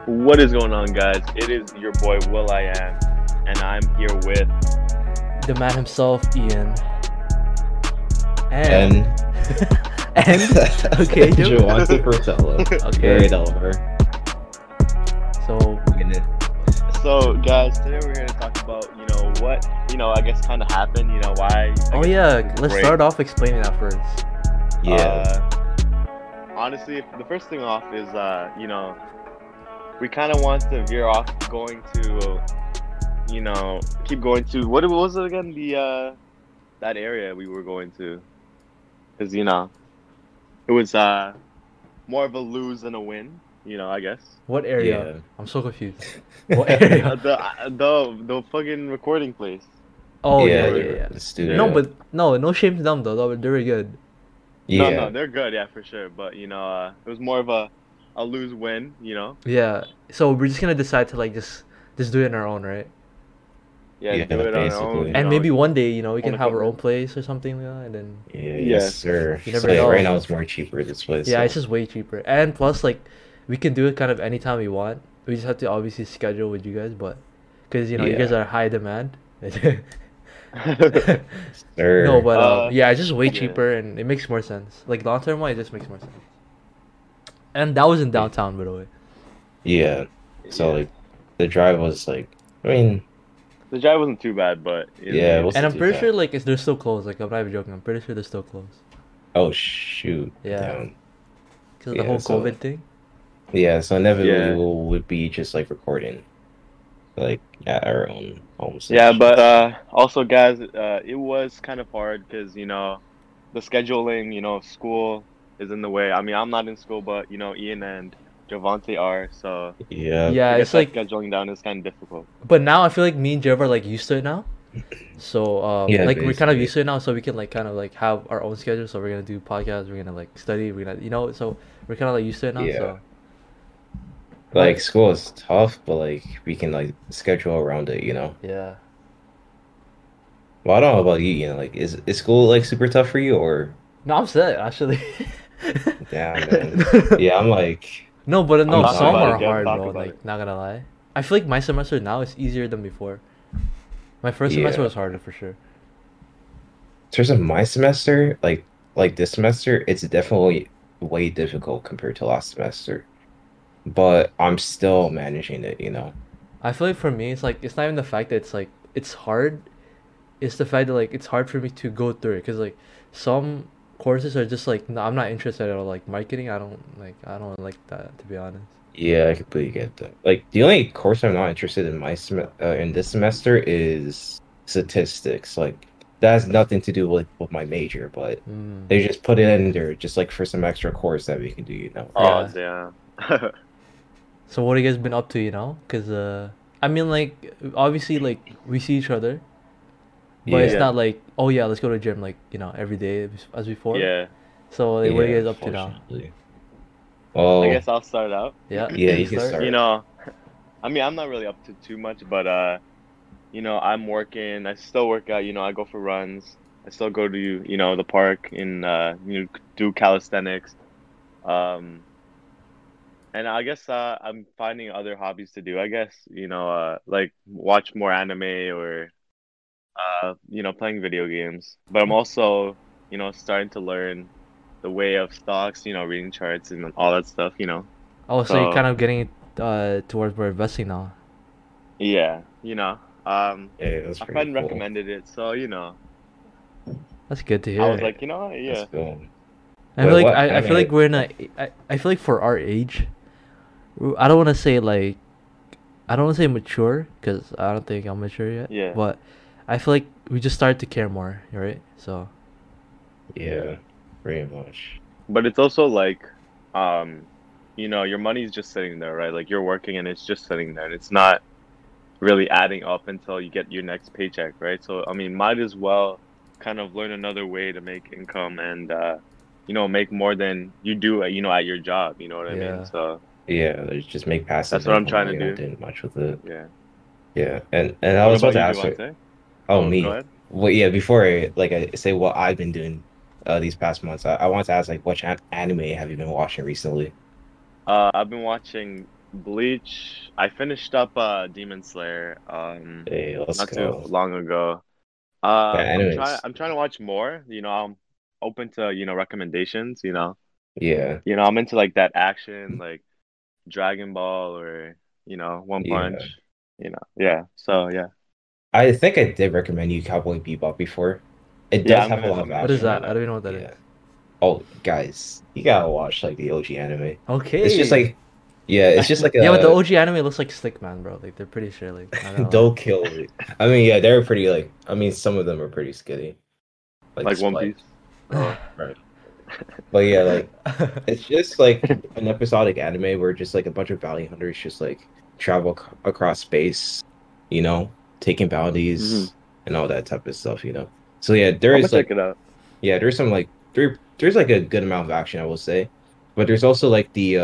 What is going on, guys? It is your boy Will I Am, and I'm here with. The man himself, Ian. And And okay, Joe. Javante Portello. Okay. Great over. So So, guys, today we're here to talk about, what, I guess kind of happened, why. oh yeah, let's start off explaining that first. Yeah. Honestly, the first thing off is, we kind of want to veer off going to, keep going to, what was it again? That area we were going to. Because, it was, more of a lose than a win, I guess. What area? Yeah. I'm so confused. What area? The fucking recording place. Oh Yeah, yeah. the studio. No, but no shame to them though. They were good. yeah. No, they're good, yeah, for sure. But it was more of a lose win, Yeah. So we're just gonna decide to like just do it on our own, right? Yeah, Yeah, do it on our basically. own. And maybe one day, we can own have our own equipment. place or something, and then Yeah, Yeah. yes, sir. You never So, know. right now it's more cheaper this place. yeah, so. it's just way cheaper. And plus, like, we can do it kind of anytime we want. We just have to obviously schedule with you guys, but because you guys Yeah. are high demand. Sir. No, but yeah, it's just way yeah. cheaper and it makes more sense. Like long term wise, it just makes more sense. And that was in downtown, by the way. Yeah. So Yeah. like the drive was like, I mean, The drive wasn't too bad, but Yeah, it was- And I'm do pretty that. sure like they're still closed. Like I'm not even joking. I'm pretty sure they're still closed oh shoot. Yeah. Damn. because of Yeah, the whole so- COVID thing. Yeah. So inevitably Yeah. we would be just like recording, like at our own homes. Yeah, but also, guys, it was kind of hard because the scheduling, school is in the way. I mean, I'm not in school, but Ian and Javante are, so yeah. Yeah, to get it's that like, scheduling down is kind of difficult. but now I feel like me and Jeff are like used to it now. So Yeah, like we're kind of basically. used to it now, so we can like kind of like have our own schedule. So we're gonna do podcasts. We're gonna like study. We're gonna so we're kind of like used to it now. Yeah. So Like school is tough, but like we can like schedule around it, yeah. Well, I don't know about you, like is school like super tough for you or No, I'm set actually. damn man. Yeah, I'm like No, but no, Talk some about are it, Jeff, hard, talk bro. about Like, it. not gonna lie. I feel like my semester now is easier than before. My first semester Yeah. was harder for sure. in terms of my semester, like this semester, it's definitely way difficult compared to last semester. But I'm still managing it. I feel like for me, it's like it's not even the fact that it's like it's hard. It's the fact that like it's hard for me to go through it because like some courses are just like no, I'm not interested at all. Like marketing, I don't like that to be honest. Yeah, I completely get that. Like the only course I'm not interested in in this semester is statistics. Like that has nothing to do with my major, but Mm. they just put it in there just like for some extra course that we can do. Oh, Yeah. damn. So what have you guys been up to? Because I mean like obviously like we see each other, but it's Yeah. not like oh yeah let's go to the gym like every day as before. Yeah, So like, what are you Yeah, guys up to now? unfortunately. Well, I guess I'll start out. Yeah. Yeah, you can start. I mean, I'm not really up to too much, but I'm working. I still work out. I go for runs. I still go to the park and do calisthenics. And I guess I'm finding other hobbies to do. I guess like watch more anime or playing video games. But I'm also starting to learn the way of stocks. Reading charts and all that stuff. Oh, so you're So- kind of getting towards more investing now. Yeah, Yeah, that's a pretty friend cool. recommended it, so That's good to hear. I was like, yeah. That's cool. I feel Wait, like what? I feel Anime? like we're in I feel like for our age, I don't want to say like, I don't want to say mature because I don't think I'm mature yet. Yeah. But I feel like we just started to care more, right? So Yeah, pretty much. But it's also like, your money's just sitting there, right? Like you're working and it's just sitting there, and it's not really adding up until you get your next paycheck, right? So I mean, might as well kind of learn another way to make income and make more than you do, at your job. You know what I Yeah. mean? So Yeah, they just make passive. That's what I'm income, trying to you're not do. doing much with it. yeah. Yeah, and I What was about to about ask you, her. Devontae? Oh, me. Go ahead. Well, yeah. Before I say what I've been doing, these past months, I want to ask like, which anime have you been watching recently? I've been watching Bleach. I finished up Demon Slayer Hey, let's not too go. long ago. Yeah, I'm trying anyways. I'm trying to watch more. I'm open to, recommendations, Yeah, I'm into like that action, like Dragon Ball or, One Punch, yeah. Yeah. So yeah. I think I did recommend you Cowboy Bebop before. It Yeah, does have a lot I'm of gonna What is check action. that that? I don't out. even know what that is. Yeah. Oh, guys, you gotta watch like the OG anime. It's just Okay. like, yeah, it's just like Yeah, but the a OG anime looks like Stickman, bro. Like they're pretty sure, like not gonna lie. don't kill it. I mean, yeah, they're pretty like. I mean, some of them are pretty skitty, like Like One Spike, Piece. Oh. right? But yeah, like it's just like an episodic anime where just like a bunch of bounty hunters just like travel across space, you know, taking Hmm. bounties and all that type of stuff, you know. So yeah, there I'm gonna is check like it out. yeah, there's some like there's like a good amount of action, I will say. But there's also like the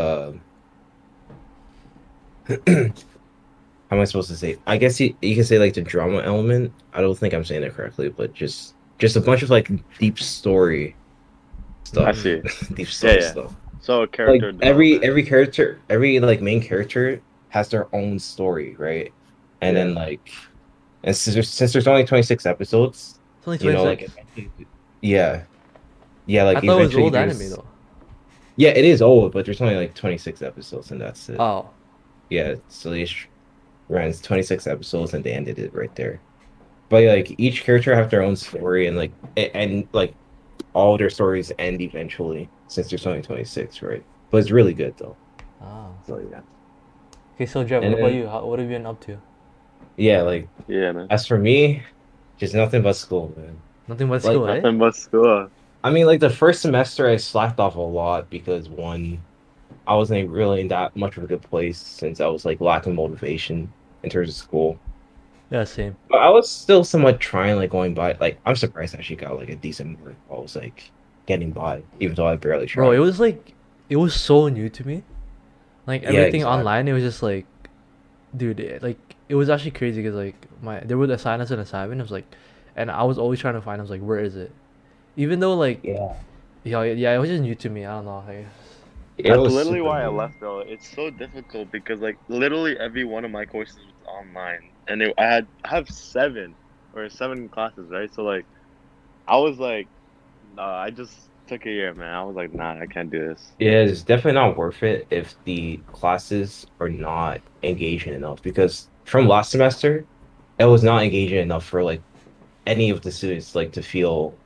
how am I supposed to say? I guess you can say like the drama element. I don't think I'm saying it correctly, but just a bunch of like deep story I stuff. Mm. see. Deep Yeah, story yeah. stuff. So Like character development. every character, every like main character has their own story, right? And Yeah. then like and since there's only 26 episodes, It's only you know, like 26. eventually, yeah. Yeah, I like thought it was eventually old anime there's though. yeah, it is old, but there's only like 26 episodes and that's it. Oh, Yeah, so they ran 26 episodes and they ended it right there. But yeah, like each character have their own story and like and like all their stories end eventually since there's only 26, right? But it's really good though. ah. So yeah. Okay, so Jeff, what And about then you? What have you been up to? yeah, like Yeah, man. as for me, just nothing but school, man. Nothing but Like school, eh? Nothing but school. I mean like the first semester I slacked off a lot because one, I wasn't really in that much of a good place since I was like lacking motivation in terms of school. Yeah, same. But I was still somewhat trying, like going by. Like I'm surprised I actually got like a decent mark. I was like getting by, even though I barely Bro, tried. it was so new to me. Like Yeah, everything exactly. online, it was just like, dude, like it was actually crazy because like they would assign us an assignment. It was like, and I was always trying to find. I was like, where is it? Even though like, Yeah, yeah, it was just new to me. I don't know. Like, it That's was literally super why I new. left though. It's so difficult because like literally every one of my courses was online, and I have seven classes, right? So like I was like, I just took a year, man. I was like, nah, I can't do this. Yeah, it's definitely not worth it if the classes are not engaging enough. Because from last semester, it was not engaging enough for like any of the students like to feel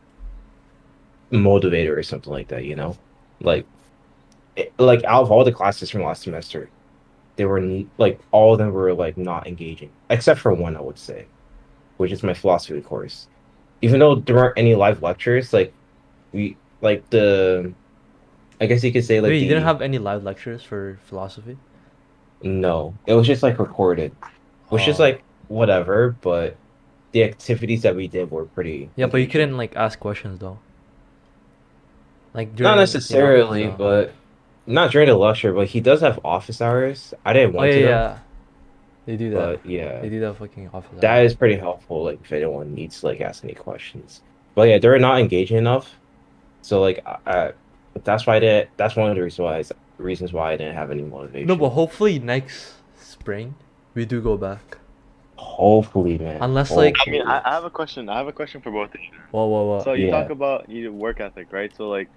motivated or something like that. You know, like like out of all the classes from last semester, they were like all of them were like not engaging, except for one, I would say, which is my philosophy course. Even though there weren't any live lectures, like we like the I guess you could say like wait, you didn't the have any live lectures for philosophy? no, it was just like recorded, which is Oh, like whatever, but the activities that we did were pretty yeah, but you engaging. couldn't like ask questions though. Like Not during, necessarily, so. but not during the lecture, but he does have office hours. I didn't Oh want yeah, to though, yeah, they do that. but yeah. They do that fucking office That hours. is pretty helpful, like if anyone needs to like ask any questions. But yeah, they're not engaging enough. So like that's why that's one of the reasons why I didn't have any No, but motivation. hopefully next spring we do go back. Hopefully, man. Unless like, I mean, Hopefully. I have a question. I have a question for both of you. whoa, whoa, whoa. So you talk Yeah. about work ethic, right? So like,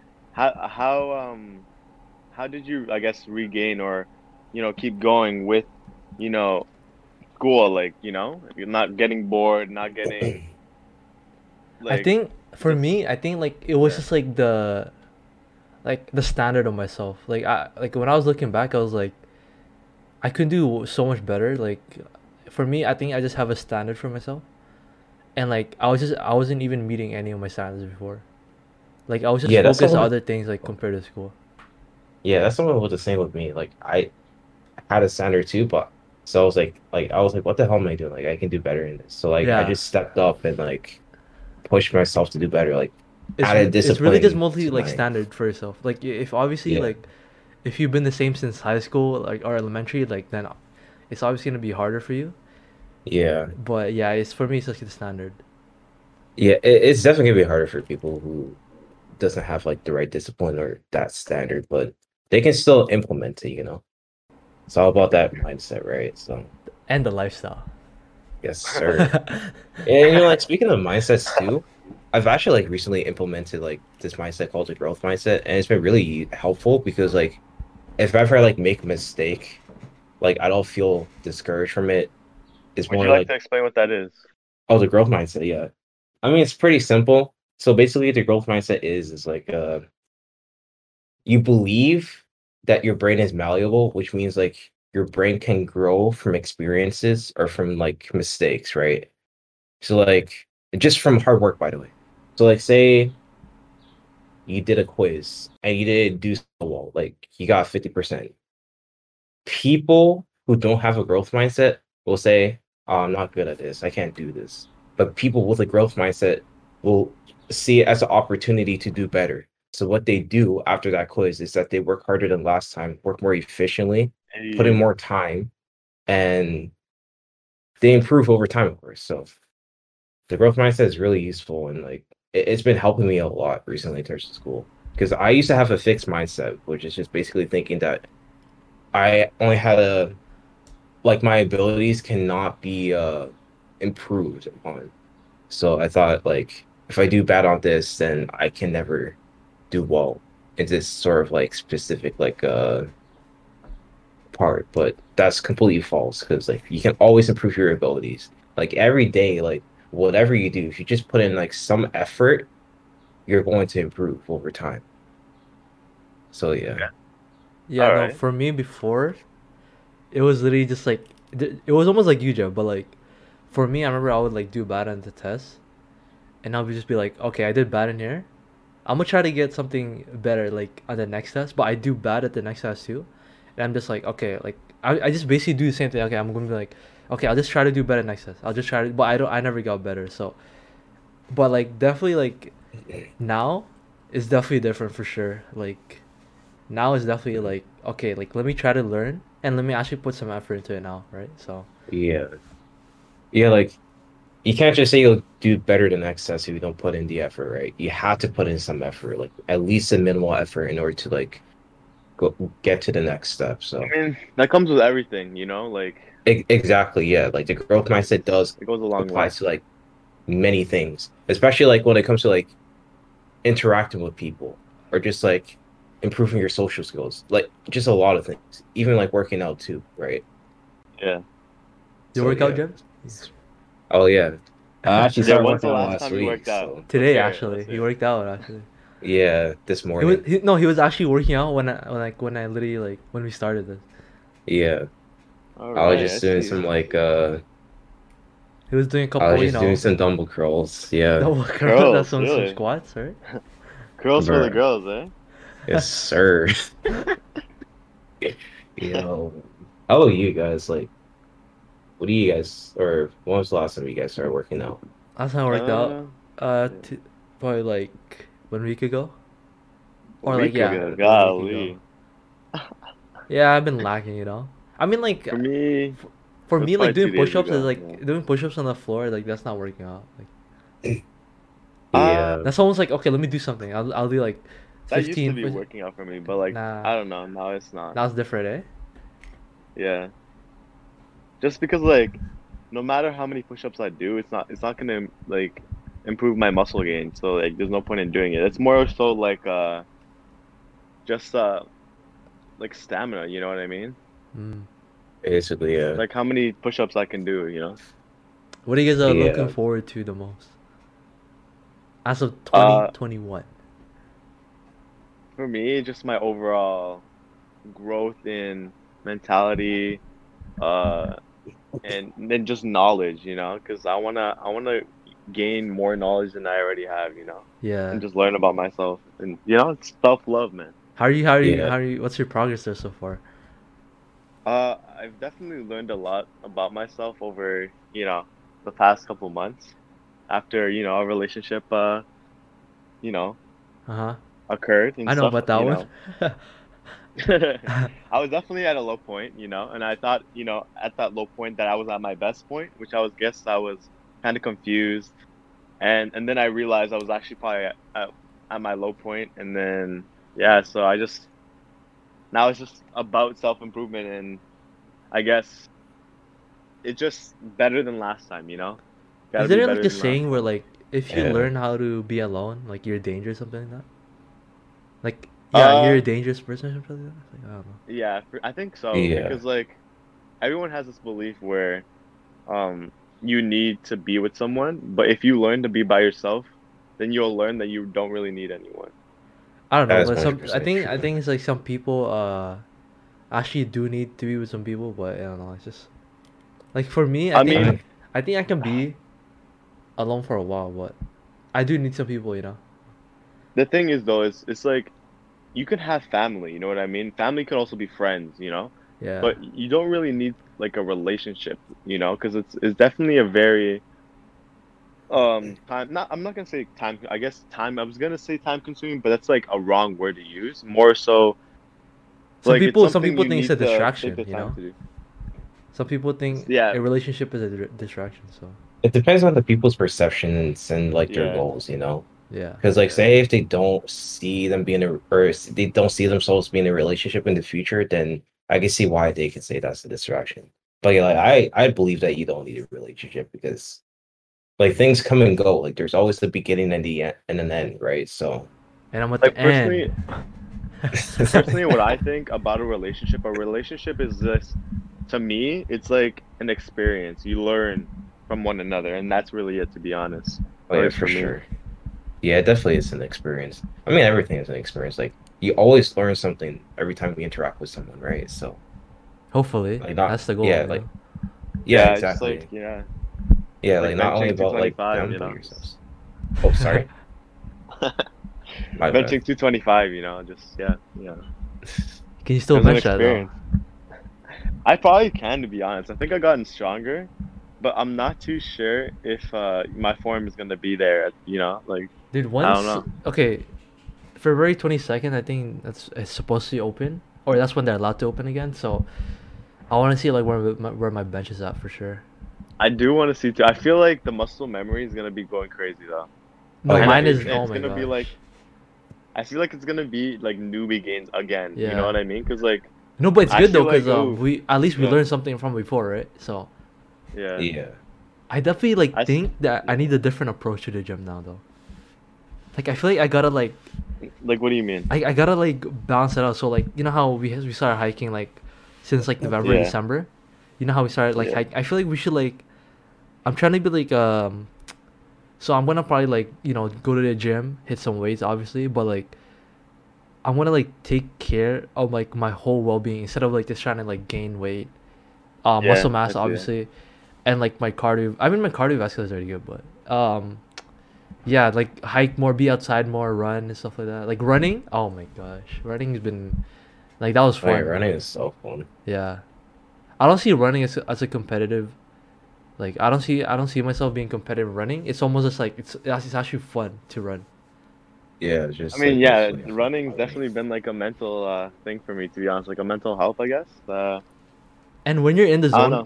how did you, I guess, regain or keep going with you know school? Like you're not getting bored, not getting I like think for just me, I think like it was yeah. just like the standard of myself. Like when I was looking back, I was like, I could do so much better. Like for me, I think I just have a standard for myself, and like I wasn't even meeting any of my standards before. Like I was just Yeah, that's focused on someone other things like compared to school. yeah, that's someone was the same with me. Like I had a standard too, but so I was like, what the hell am I doing? Like I can do better in this. So like I Yeah, just stepped up and like pushed myself to do better, like added it's really just discipline mostly to like my standard for yourself. Like if obviously yeah. like if you've been the same since high school like or elementary, like then it's obviously gonna be harder for you. Yeah. But yeah, it's for me it's just the standard. Yeah, it's definitely gonna be harder for people who doesn't have like the right discipline or that standard, but they can still implement it, you know. It's all about that mindset, right? So And the lifestyle. yes, sir. And like speaking of mindsets too, I've actually like recently implemented like this mindset called the growth mindset, and it's been really helpful because like if ever I like make a mistake, like I don't feel discouraged from it. It's Would you more like like, to explain what that is? oh, the growth mindset, yeah. I mean, it's pretty simple. So basically, the growth mindset is like you believe that your brain is malleable, which means like your brain can grow from experiences or from like mistakes, right? So like just from hard work, by the way. So like say you did a quiz and you didn't do so well, like you got 50%. People who don't have a growth mindset will say, oh, I'm not good at this. I can't do this. But people with a growth mindset will see it as an opportunity to do better. So what they do after that quiz is that they work harder than last time, work more efficiently, put in Hey, more time, and they improve over time, of course. So the growth mindset is really useful and like it's been helping me a lot recently in terms of school. Because I used to have a fixed mindset, which is just basically thinking that I only had a like my abilities cannot be improved upon. So I thought like if I do bad on this, then I can never do well in this sort of like specific like part. But that's completely false because like you can always improve your abilities. Like every day, like whatever you do, if you just put in like some effort, you're going to improve over time. So yeah. okay. Yeah, All no, right. for me before, it was literally just like it was almost like you, Joe, but like for me, I remember I would like do bad on the test, and I would just be like, okay, I did bad in here. I'm gonna try to get something better like on the next test, but I do bad at the next test too, and I'm just like, okay, like I just basically do the same thing. Okay, I'm gonna be like, okay, I'll just try to do better next test. I'll just try to, but I never got better. So, but like definitely like now is definitely different for sure. Like now is definitely like okay, like let me try to learn and let me actually put some effort into it now, right? So Yeah. Yeah, like you can't just say you'll do better the next test if you don't put in the effort, right? You have to put in some effort, like at least a minimal effort in order to like go get to the next step. So I mean, that comes with everything, like exactly, yeah. Like the growth mindset does it goes a long apply way. to like many things, especially like when it comes to like interacting with people or just like improving your social skills, like just a lot of things, even like working out too, right? Yeah. you So work out, yeah. Jim? Oh yeah. I actually Yeah, started when's working the out last last time you week, worked out? so Let's Today hear it. actually, Let's he hear it. worked out actually. yeah, this He was morning. no, he was actually working out when I literally like when we started this. Yeah. All I was right, I just doing see. some like He was doing a I was couple, just doing some dumbbell curls. Yeah. double curl. That's Curls, some really? squats, right? Curls for the Bruh. girls, eh? Yes, sir. Yo. How about you guys? Like, what do you guys or when was the last time you guys started working out? Last time I worked out, Uh, uh, yeah. probably like 1 week ago, A or like week yeah, ago, like 1 week ago. golly. Yeah, I've been lacking, you know. I mean, like, For me, it for was me, like probably doing 2 days push-ups is ago. like doing push-ups on the floor. Like that's not working out. Like Yeah. Yeah. that's almost like okay, let me do something. I'll do like That used to 15 be push. working out for me, but like Nah, I don't know. Now it's not. that was different, eh? Yeah. Just because like no matter how many push-ups I do, it's not gonna like improve my muscle gain. So like there's no point in doing it. It's more so like just like stamina, you know what I mean? Mm. Basically, yeah. Like how many push-ups I can do. What are you guys looking Yeah. forward to the most as of Uh 2021? for me, just my overall growth in mentality, uh and then just knowledge, because I wanna gain more knowledge than I already have, Yeah. and just learn about myself and it's self-love, man. How are you? How are you? Yeah. How are you? What's your progress there so far? I've definitely learned a lot about myself over the past couple months after a relationship you know Uh huh. occurred and I know stuff, about that you one. know. I was definitely at a low point, and I thought at that low point that I was at my best point, which guess I was kind of confused, and then I realized I was actually probably at my low point, and then yeah, so I just now it's just about self improvement and I guess it's just better than last time. Gotta Is be there like better a than last saying where time. like if you Yeah. learn how to be alone, like you're dangerous, something like that? Like yeah, you're a Uh, dangerous person or something like that. Like, I don't know. yeah, I think so Yeah. because like everyone has this belief where um you need to be with someone, but if you learn to be by yourself, then you'll learn that you don't really need anyone. I don't know, That is but some I 100% think I true. think it's like some people actually do need to be with some people, but I don't know. It's just like for me, I I mean, mean, I think I can be alone for a while, but I do need some people, you know. the thing is though, it's like you can have family, you know what I mean? Family could also be friends. Yeah. But you don't really need like a relationship, because it's definitely a very time not I'm not gonna say time I guess time I was gonna say time consuming, but that's like a wrong word to use. More so like it's Some something people you think it's need a to take distraction, the you time know. to do. Some people think Yeah, a relationship is a distraction. So it depends on the people's perceptions and like their yeah, goals, you know? yeah, Because like yeah. say if they don't see them being a or they don't see themselves being in a relationship in the future, then I can see why they could say that's a distraction. But yeah, like I believe that you don't need a relationship because like things come and go. Like there's always the beginning and the end and an end, right? So and I'm at the Like end. personally, what I think about a relationship is this, to me, it's like an experience. You learn from one another, and that's really it, to be honest. oh At yeah, least for for me. sure. Yeah, it definitely is an experience. I mean, everything is an experience. Like you always learn something every time we interact with someone, right? So Hopefully, like not that's the goal, yeah, you know. like yeah, Yeah, just like exactly. Yeah, like like not only benching about like 225, them but yourselves. Oh, sorry. My bad. benching 225, just Can you it still was an bench that though? experience. I probably can, to be honest. I think I've gotten stronger, but I'm not too sure if my form is gonna be there. Like Dude, I don't once know. okay, February 22nd, I think that's it's supposed to open, or that's when they're allowed to open again. So I want to see like where my bench is at for sure. I do want to see too. I feel like the muscle memory is gonna be going crazy though, Oh No, yeah, and mine for is. sure. Oh it's my gonna be like gosh. I feel like it's gonna be like newbie gains again. You know Yeah. what I mean? Because like No, but it's I good though, feel like cause oh we at least we yeah learned something from before, right? So yeah Yeah. I definitely like I s- think that I yeah. need a different approach to the gym now though. Like I feel like I gotta like Like what do you mean? I gotta like balance it out. So like you know how we started hiking like since like November Yeah December. You know how we started like yeah hike. I feel like we should like I'm trying to be like so I'm gonna probably like go to the gym, hit some weights obviously, but like I'm gonna like take care of like my whole well being instead of like just trying to like gain weight, muscle yeah. I mass see that. obviously, and like my cardio. I mean my cardiovascular is already good, but yeah, like hike more, be outside more, run and stuff like that. Like running, oh my gosh, running's been like that was Oh yeah, fun, running but is so fun. yeah, I don't see running as a competitive. Like I don't see myself being competitive running. It's almost just like it's actually fun to run. Yeah, it's I just mean like yeah, basically a fun running's hobby. definitely been like a mental thing for me, to be honest. Like a mental health, I guess. And when you're in the I don't zone, know.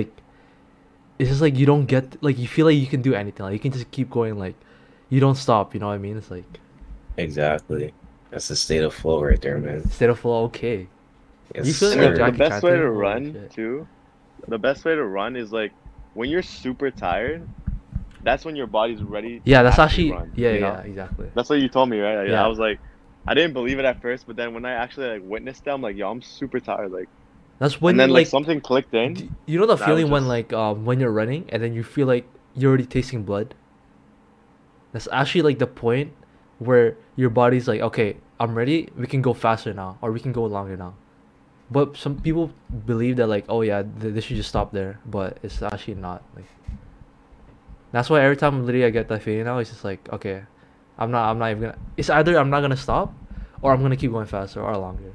it's just like you don't get like you feel like you can do anything. Like you can just keep going. Like you don't stop. You know what I mean? It's like Exactly. That's the state of flow right there, man. state of flow. Okay. Yes, You feeling And like the sir. Jackie best Chan way today? to Holy run shit. too, the best way to run is like when you're super tired. That's when your body's ready Yeah, to that's actually actually run. yeah, exactly. That's what you told me, right? I Yeah. was like, I didn't believe it at first, but then when I actually like witnessed it, I'm like, yo, I'm super tired. Like, That's and when then like like something clicked in. you know the And I was feeling just, when you're running and then you feel like you're already tasting blood. That's actually like the point where your body's like, okay, I'm ready. We can go faster now, or we can go longer now. But some people believe that like, oh yeah, they should just stop there, but it's actually not. Like that's why every time literally I get that feeling now, it's just like, okay, I'm not even gonna. It's either I'm not gonna stop, or I'm gonna keep going faster or longer.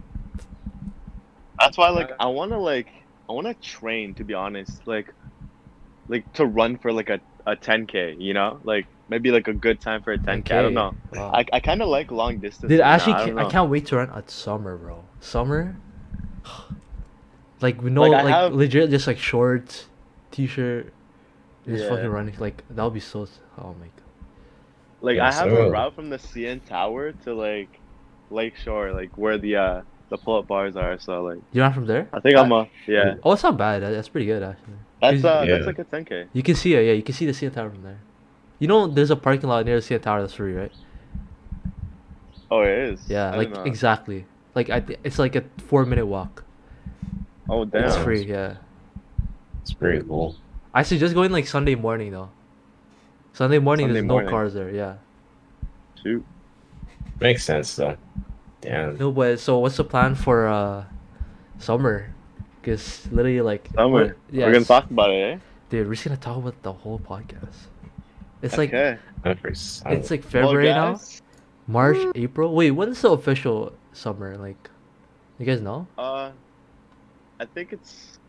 that's why like I wanna train, to be honest, like to run for like a 10K, like maybe like a good time for a 10K. I don't 10K. know. Wow. I kind of like long Dude, distances now. actually, I don't I know. can't wait to run at summer, bro. Summer, like we know, Like I like have, legit, just like shorts, t-shirt, just fucking yeah, running. Like that would be so. Oh my god. like Yeah, I have a so route from the CN Tower to like Lakeshore, like where the the pull-up bars are. So like, You're not from there? I think I'm a yeah. Oh, it's not bad. That's pretty good actually. That's 'Cause that's Yeah. like a 10K. you can see it. Yeah, you can see the CN Tower from there. You know, there's a parking lot near the CN Tower that's free, right? Oh, it is. Yeah, I like didn't know. exactly. Like it's like a 4 minute walk. Oh damn. It's Wow. free. Yeah. It's pretty cool. I suggest going like Sunday morning though. Sunday morning, Sunday there's morning. no cars there. Yeah. Shoot. Makes sense though. Damn. No, but so what's the plan for summer? Cause literally like Summer. We're gonna talk about it, eh? Dude, we're just gonna talk about the whole podcast. It's like Okay. it's like Well, February now, guys, March, April. Wait, when's the official summer? Like, you guys know? I think it's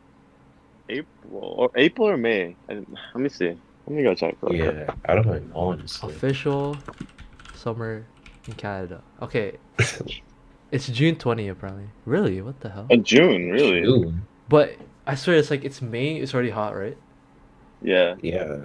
April or May. Let me see. Let me go check. real quick. Yeah, I don't know honestly. Official summer in Canada. Okay, it's June 20 apparently. Really? What the hell? In June, really? Ooh, But I swear it's like it's May. It's already hot, right? Yeah. yeah.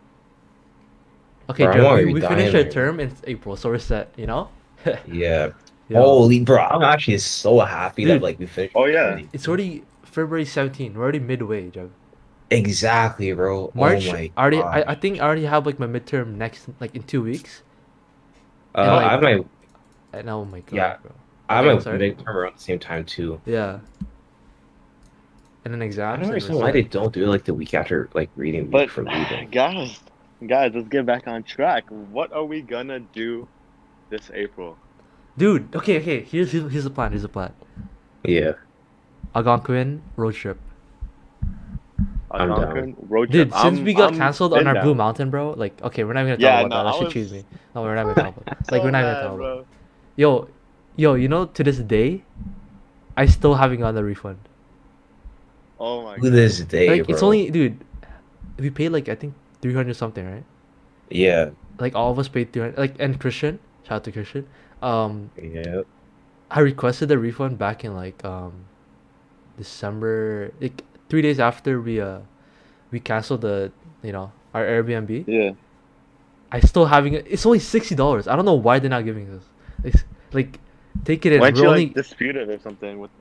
Okay, Bro, I'm Joe, already we dying finished our right now. term in April, so we're set. You know? Yeah. Yo, Holy bro, I'm actually so happy that Dude. like we finished. Oh, yeah. already. it's already February 17. We're already midway, Joe. Exactly, bro. March. Oh my I already. God. I think I already have like my midterm next like in 2 weeks. I like- have my And oh my god, Yeah. bro. I have Okay, my sorry. midterm around the same time too. Yeah. And then I exams. don't and understand why they results. don't do it like the week after like reading But week from reading. guys, let's get back on track. What are we gonna do this April? Dude, okay. Here's the plan. Here's the plan. Yeah. Algonquin road trip. I'm down. Algonquin road trip. Dude, since we got canceled on been our down. Blue Mountain, bro. Like, okay, we're not even gonna Yeah, talk about no, that. That I should was- cheese me. No, we're not even gonna talk about. Like, So we're not even mad, gonna talk about. bro. Yo, you know, to this day, I still haven't gotten the refund. Oh my To god. this day, Like, bro. it's only, dude. We paid like I think 300 something, right? Yeah. Like all of us paid 300. Like, and Christian, shout out to Christian. Yeah. I requested the refund back in like December, like 3 days after we canceled the our Airbnb. Yeah. I still having it. It's only $60. I don't know why they're not giving us. It's, like, take it in. Why don't We're you only like dispute it or something with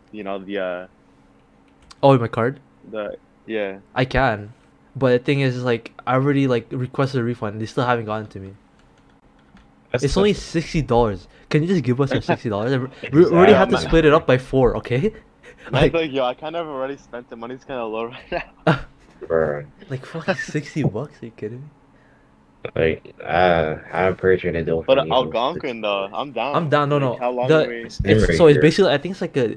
oh my card. the yeah. I can, but the thing is like I already like requested a refund. They still haven't gotten to me. That's It's only $60. Can you just give us our $60? We already have to Exactly. split it up by 4, okay? Like, Like, yo, I kind of already spent the money's kind of low right now. bro. like fucking $60. Are you kidding me? Like, I'm pretty sure they don't. But need those. Algonquin though, I'm down. I'm down. No, Like, no. How long The- are we? Same right So it's here. basically I think it's like a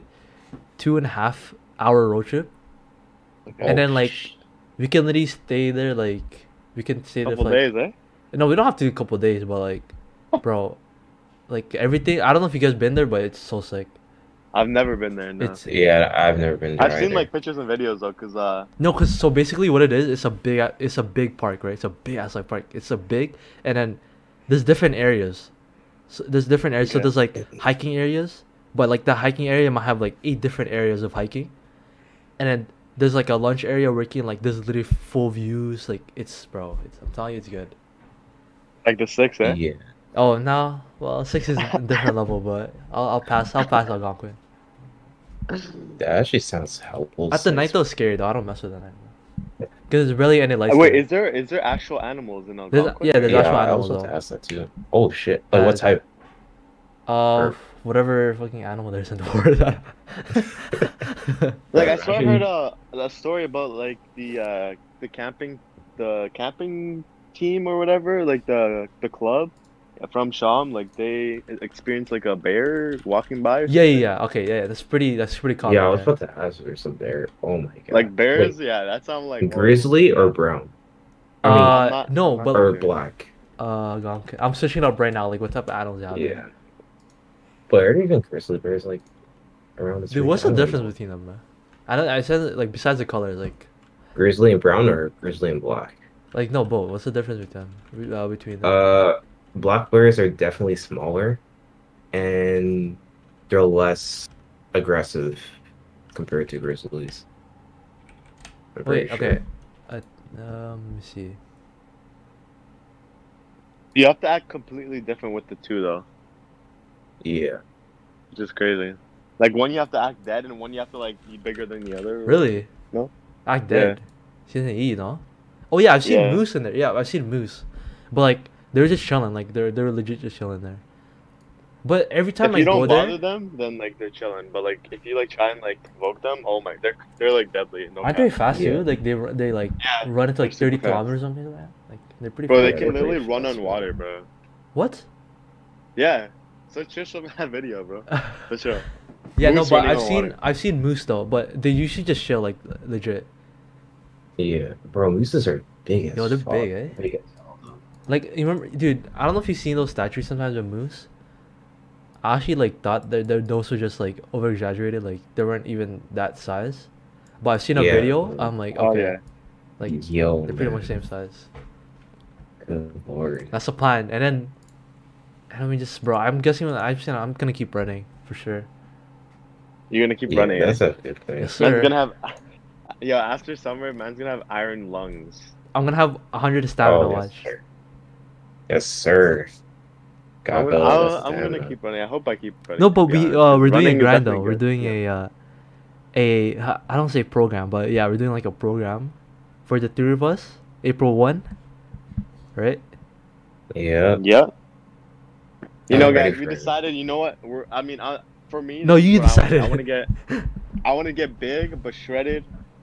2.5 hour road trip, and then like we can literally stay there like we can stay there Couple for like, days, eh? no, we don't have to do a couple days, but like, bro, like everything. I don't know if you guys been there, but it's so sick. I've never been there. No. It's Yeah, I've never been there. I've seen either. like pictures and videos though, cause no, cause so basically what it is, it's a big park, right? It's a big ass like park. It's a big, and then there's different areas. So there's different areas. So Okay. there's like hiking areas, but like the hiking area might have like 8 different areas of hiking, and then there's like a lunch area where you can like there's literally full views. Like it's I'm telling you, it's good. like the 6, eh? Yeah. Oh no, well 6 is a different level, but I'll pass Algonquin. That actually sounds helpful. At the night though, it's scary though. I don't mess with the night. Cause there's really any lights. Wait, there. is there actual animals in There's- Algonquin? yeah, there's Yeah, actual I animals, was about though. to ask that too. Oh shit! Like what type? Or whatever fucking animal there's in the world. Like I swear I heard Actually- a story about like the camping team or whatever, like the club from Sham, like they experienced like a bear walking by. Or Yeah. Okay, yeah. That's pretty common. Yeah, I was yeah. about to ask if there's some bear. Oh my god! like bears, Wait, yeah, that sounds like whoa. grizzly or brown I mean, I'm not- No, I'm not but or sure. black? Algonquin. I'm searching up right now. Like what type of animals out there? Yeah. But are there even grizzly bears like around this? Dude, region? what's the I don't difference know. between them, man? I said like besides the colors, Grizzly and brown or grizzly and black? like no both. What's the difference between them? Black bears are definitely smaller, and they're less aggressive compared to grizzlies. I'm Wait, pretty sure. okay. Let me see. You have to act completely different with the two though, Yeah. which is crazy. Like one you have to act dead, and one you have to like be bigger than the other. Really? No. Act dead. Season E, no? Oh yeah, I've seen Yeah. Moose in there. Yeah, I've seen Moose, but like they're just chilling. Like they're legit just chilling there. But every time If I you go don't bother there, them, then like they're chilling. But like if you like try and like provoke them, oh my, they're like deadly. No aren't cap. they fast Yeah. too? Like they like Yeah, run into like they're 30 super fast. kilometers or something like that. Like they're pretty Bro, fast. they Yeah, can they're literally pretty run fast, on bro. water, bro. What? Yeah. So just show me that video, bro. For sure. Yeah, no, Moose but running I've on seen water. I've seen Moose though, but they usually just chill like legit. Yeah, bro, mooses are big as Yo, they're fuck. big, eh? Big as hell. Like you remember, dude? I don't know if you've seen those statues sometimes with moose. I actually like thought their nose was just like over exaggerated, like they weren't even that size. But I've seen a Yeah. video. I'm like, Oh okay, yeah. like Yo, they're pretty man. much same size. Good lord. That's the plan. And then we just, bro. I'm guessing I'm gonna keep running for sure. You're gonna keep Yeah, running. that's eh? a good thing. Yes, Man's sir. gonna have. Yo, after summer, man's gonna have iron lungs. I'm gonna have 100 stamina. Oh, yes, Watch. sir. Yes, sir. I'm God gonna, build us I'm gonna stamina. keep running. I hope I keep running. No, to but be we honest, 'cause we're doing running a is grind though. definitely We're good. doing Yeah. I don't say program, but yeah, we're doing like a program for the three of us. April 1, right? Yeah. Yeah. You I'm know, ready guys, we for it. decided. You know what? For me. No, this is you what decided. I want to get big but shredded.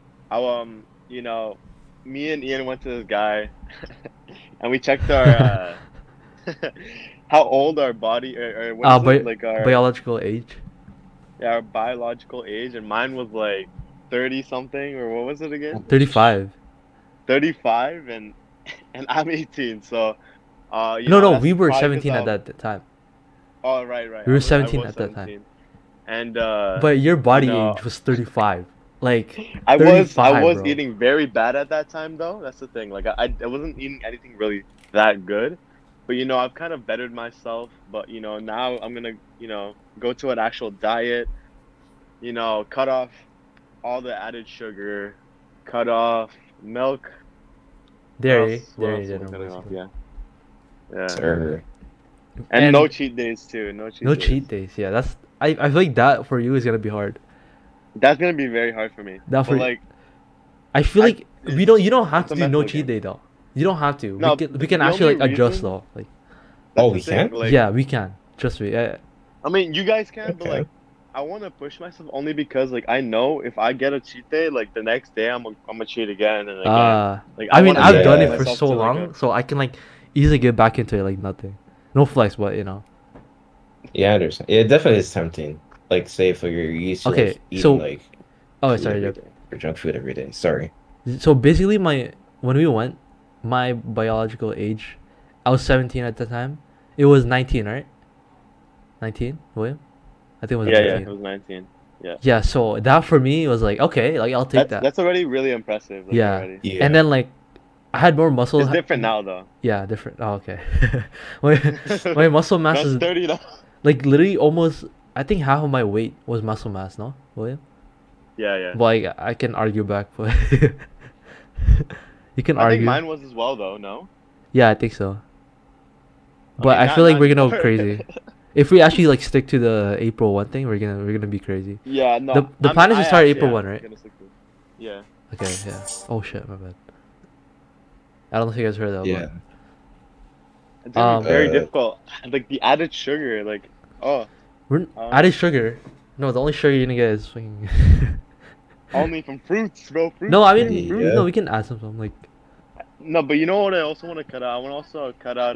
You know, me and Ian went to this guy, and we checked our how old our body or what is it? Like our biological age. yeah, our biological age, and mine was like 30 something, or what was it again? 35. 35, and I'm 18. So, you No, know, no, that's we were probably 'cause 17 at of- that time. Oh, right. We were I 17 was at that time. 17. And But your body know, age was 35. Like I 35, was bro. eating very bad at that time though. That's the thing. Like I wasn't eating anything really that good. But you know, I've kind of bettered myself, but you know, now I'm going to, you know, go to an actual diet, you know, cut off all the added sugar, cut off milk. Dairy, What dairy, else am I dairy, cutting off? basically. Yeah. Sir. And no cheat days too. No cheat no days. cheat days. Yeah, that's I feel like that for you is gonna be hard. That's going to be very hard for me. That for But like I feel like you don't have it's to a do no mental cheat game. day though. You don't have to. No, we can the actually only like adjust reason- though. Like that's Oh, the we thing, can? like, yeah, we can. Trust me. I mean, you guys can, but Okay. like, I want to push myself only because, like, I know if I get a cheat day, like the next day I'm gonna cheat again and again. Like, I mean, wanna I've set done it yeah. for myself so to, like, long, so I can like easily get back into it like nothing. No flex, but you know. Yeah, I understand. It definitely is tempting. Like, say if you're used to Okay, like, eating so- like Oh, food sorry. every day, or junk food every day. Sorry. So basically, when we went, my biological age, I was 17 at the time. It was 19, right? 19, William? I think it was yeah, 19. it was 19. Yeah, so that for me was like, okay, like I'll take that. That's already really impressive. Like, Yeah. already. Yeah. And then like, I had more muscle. It's different now though. Yeah, different. Oh, okay. my muscle mass That's is 30 now. like literally almost. I think half of my weight was muscle mass. No, William. Yeah. Well, I can argue back, but you can I think argue. mine was as well though. No. Yeah, I think so. But Okay, I feel like not we're gonna go anymore. crazy. If we actually like stick to the April 1 thing, we're gonna be crazy. Yeah, no. The plan is to I start actually April am 1, right? gonna stick to it. Yeah. Okay, yeah. Oh shit, my bad. I don't know if you guys heard that. Yeah. It's gonna be very Uh, difficult. Like the added sugar, like But we're Oh. added sugar. No, the only sugar you're gonna get is fucking. only from fruits, bro. Fruits. No, I mean, Yeah. no, we can add some like. No, but you know what I also want to cut out? I want to also cut out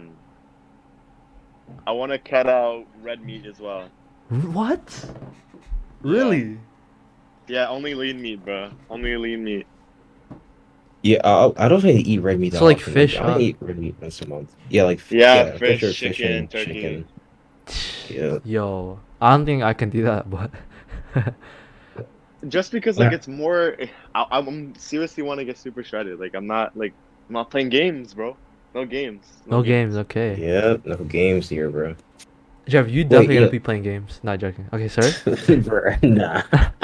I want to cut out red meat as well. What? Really? Yeah, only lean meat, bro. Only lean meat. Yeah, I don't really eat red meat. So, that like, often. fish, I huh? only eat red meat once a month. Yeah, like Yeah, fish fish, or chicken, turkey. chicken. Yeah. Yo, I don't think I can do that, but. Just because like Yeah. it's more, I'm seriously want to get super shredded. Like I'm not playing games, bro. No games. No games, okay. Yeah, no games here, bro. Jeff, you definitely gonna yeah. be playing games. Not joking. Okay, sir. Bruh, nah.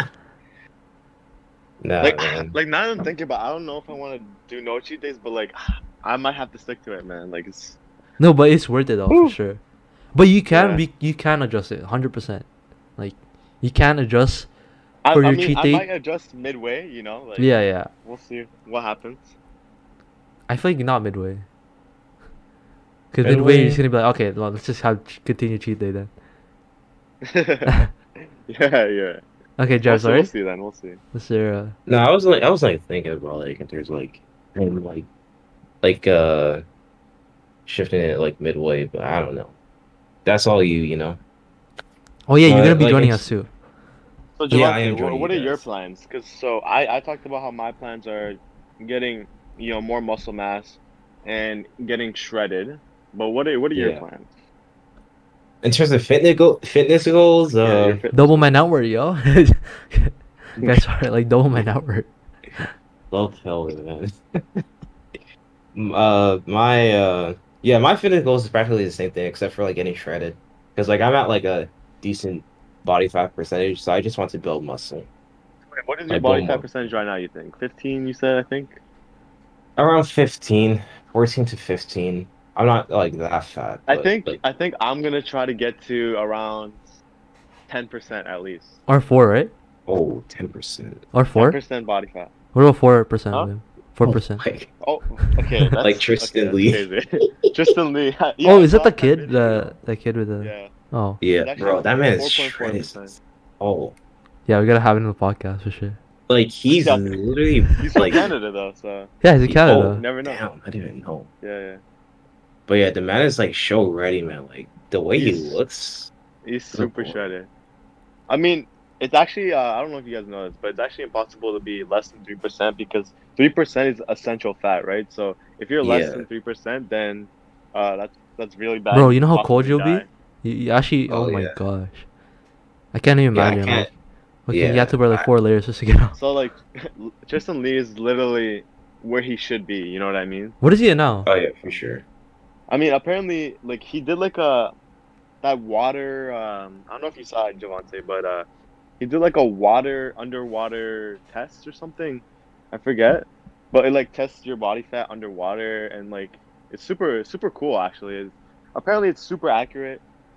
Nah, Like man. like now that I'm thinking about, I don't know if I want to do no cheat days, but like I might have to stick to it, man. Like it's No, but it's worth it though Woo. for sure. But you can Yeah. you can adjust it 100%. Like You can't adjust I, for I your mean, cheat I day. might adjust midway. You know, like Yeah, yeah. we'll see what happens. I feel like not midway. Because midway, you're just gonna be like, okay, well, let's just have continue cheat day then. Yeah, yeah. Okay, We'll Jeff, see, we'll sorry. see then. We'll see. Is there No, I was like thinking about like if there's like and like shifting it like midway, but I don't know. That's all you know. Oh yeah, you're gonna be Like, joining it's- us too. So Yeah, I Javante, am joining what you are your guys. plans? Because so I talked about how my plans are getting more muscle mass and getting shredded. But what are your Yeah. plans? In terms of fitness goals, Yeah, your fitness Double my goals. net worth, yo. Guys, sorry, like double my net worth. love hell man. My fitness goals is practically the same thing except for like getting shredded. Because like I'm at like a decent body fat percentage, so I just want to build muscle. Wait, what is your Like body bone fat muscle. percentage right now? You think 15? You said I think. Around 15, 14 to 15. I'm not like that fat, I but think like I think I'm gonna try to get to around 10% at least. Or 4, right? 10%. Or 4? 10% body fat. What about 4%? Huh? Liam? 4%. Like, Oh, okay. That's, Like Tristan okay, Lee. that's crazy. Tristan Lee. Yeah, Oh, I is that saw the that kid? video. The kid with the. Yeah. Oh, yeah, It's bro, actually that man is 4.4%. shredded. Oh, yeah, we gotta have it in the podcast for sure. like he's Yeah. literally He's from like Canada though, so Yeah, he's in Oh, Canada. never know. damn, I didn't even know. Yeah, But yeah, the man is like show ready, man. Like the way he He's- looks. he's super boy. shredded. I mean, it's actually I don't know if you guys know this, but it's actually impossible to be less than 3% because 3% is essential fat, right? So if you're less Yeah. than 3%, then that's really bad. Bro, you know how Possibly cold you'll be? die. You actually. Oh, Oh, my yeah. gosh. I can't even Yeah, I imagine. can't. Like, you yeah, have to wear like I- 4 layers just to get out. So like, Tristan Lee is literally where he should be. You know what I mean? What is he at now? Oh yeah, for sure. I mean, apparently, like he did like that water. I don't know if you saw it, Javante, but he did like a underwater test or something. I forget, but it like tests your body fat underwater, and like it's super cool actually. Apparently, it's super accurate.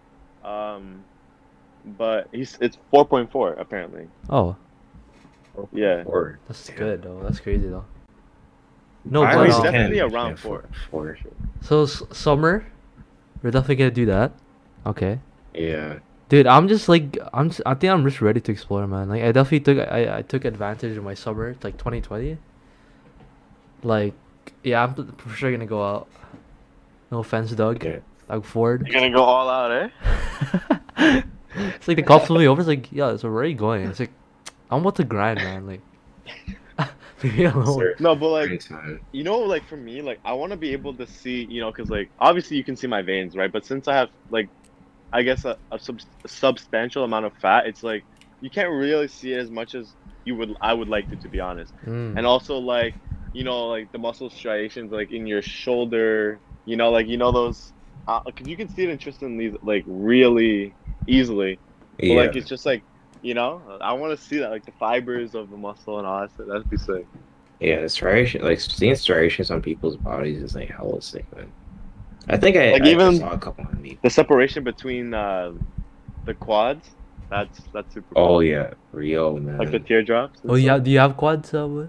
But it's 4.4 apparently. Oh, Yeah. Or that's Damn. good though. That's crazy though. No, I but mean, was definitely 10, around yeah, 4. four. so summer, we're definitely gonna do that. Okay, Yeah. dude. I'm just like I think I'm just ready to explore, man. Like I definitely I took advantage of my summer, like 2020. Like, yeah, I'm for sure gonna go out. No offense, Doug. Yeah. Doug Ford. You're gonna go all out, eh? It's like the cops pull me over. It's like, yeah, so where are you going? It's like, I'm about to grind, man. Like, leave me alone. Sir, No, but like anytime. like for me, like I want to be able to see, because like obviously you can see my veins, right? But since I have like, I guess a substantial amount of fat, it's like you can't really see it as much as I would like to be honest. Mm. And also like, like the muscle striations like in your shoulder, like those, cause you can see it in Tristan Lee's like really easily. But Yeah. like it's just like, I want to see that like the fibers of the muscle and all that stuff. That'd be sick. Yeah, the striation, like seeing striations on people's bodies is like hella sick, man. I think I, Like, I even- saw a couple on me. The separation between the quads, that's super cool. Oh yeah, Rio, man. Like the teardrops. and Oh, yeah. stuff. Do you have quads, Wood?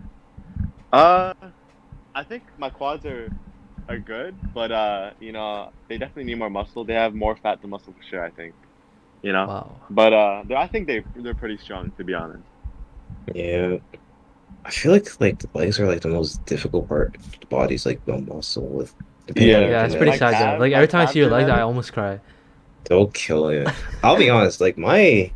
I think my quads are good, but they definitely need more muscle. They have more fat than muscle for sure, I think. Wow. But I think they're pretty strong, to be honest. Yeah. I feel like the legs are like the most difficult part of the body's like the muscle with depending Yeah. on Yeah, your it's genetic. pretty Like sad, though. calves- Like, like every time I calf see your legs, I genetics? almost cry. They'll kill you. I'll be honest, like my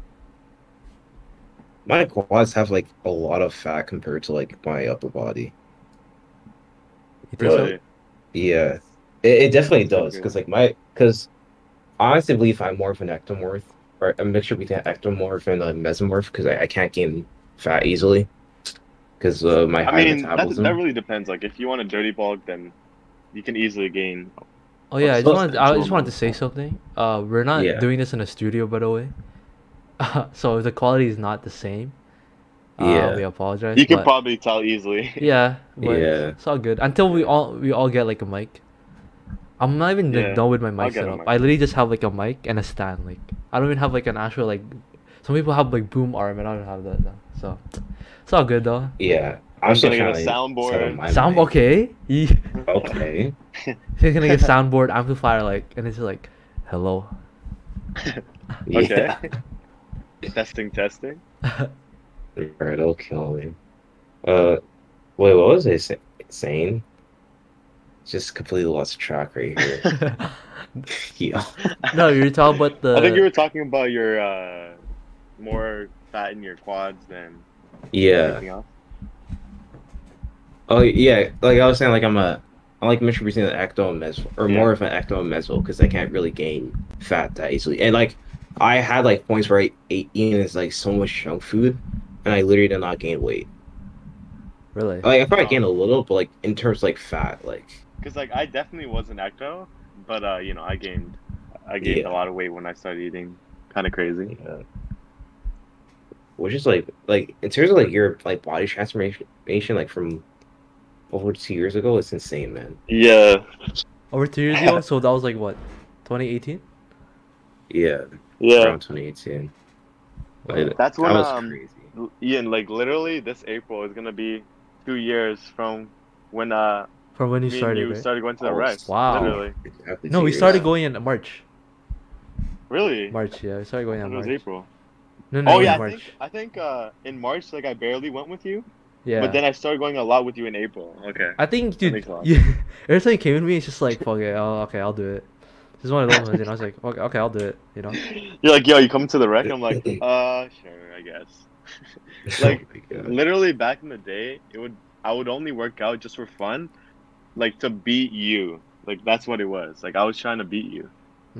quads have like a lot of fat compared to like my upper body. You think so? Really? Yeah, it definitely That's so does good. because because I honestly believe I'm more of an ectomorph or a mixture between an ectomorph and a mesomorph because I can't gain fat easily because my I high mean, metabolism. that really depends. Like, if you want a dirty bulk, then you can easily gain. Oh, yeah. I So just substantial wanted to say something. We're not Yeah. doing this in a studio, by the way. So if the quality is not the same, Yeah. we apologize. You can but- probably tell easily. Yeah, but Yeah. it's all good until we all get like a mic. I'm not even like, Yeah, done with my I'll mic get a setup. mic. I literally just have like a mic and a stand. Like I don't even have like an actual like Some people have like boom arm, and I don't have that. Though. So it's all good though. Yeah, I'm I'm still gonna trying get a to soundboard. settle my Sound mind. okay? He's Okay. gonna get soundboard amplifier like, and it's like, hello. Okay. Yeah. Testing. Alright, it'll kill me. Wait, what was I saying? Just completely lost track right here. Yeah. No, you're talking about the. I think you were talking about your more fat in your quads than Yeah. anything else. Oh yeah, like I was saying, like I'm like mixture between an ecto and meso, or Yeah. more of an ecto and meso, because I can't really gain fat that easily. And like I had like points where I ate eating is like so much junk food, and I literally did not gain weight. Really? Like I probably Oh. gained a little, but like in terms of, like fat, like Because like I definitely was an ecto, but you know I gained Yeah. a lot of weight when I started eating. Kind of crazy. yeah. Which is like in terms of like your like body transformation, like from over 2 years ago, it's insane, man. Yeah. Over 2 years ago, so that was like what, 2018? Yeah, Yeah. around 2018. Like, That's that when was crazy. Ian, like literally this April is gonna be 2 years from when From when you me started, and you right? started going to the Oh, rec. wow. Literally. Exactly No, 2 we years. started going in March. Really? March, yeah, we started going I in thought it was March. April. No, no, Oh it yeah, was March. I think in March like I barely went with you, Yeah. but then I started going a lot with you in April. Okay. I think, dude, makes a lot. every time you came with me, it's just like, fuck it, oh, okay, I'll do it. This is one of those ones, and I was like, okay, I'll do it, you know? You're like, yo, you coming to the rec? I'm like, sure, I guess. Like, Oh my God. literally back in the day, I would only work out just for fun, like to beat you. Like that's what it was. Like I was trying to beat you.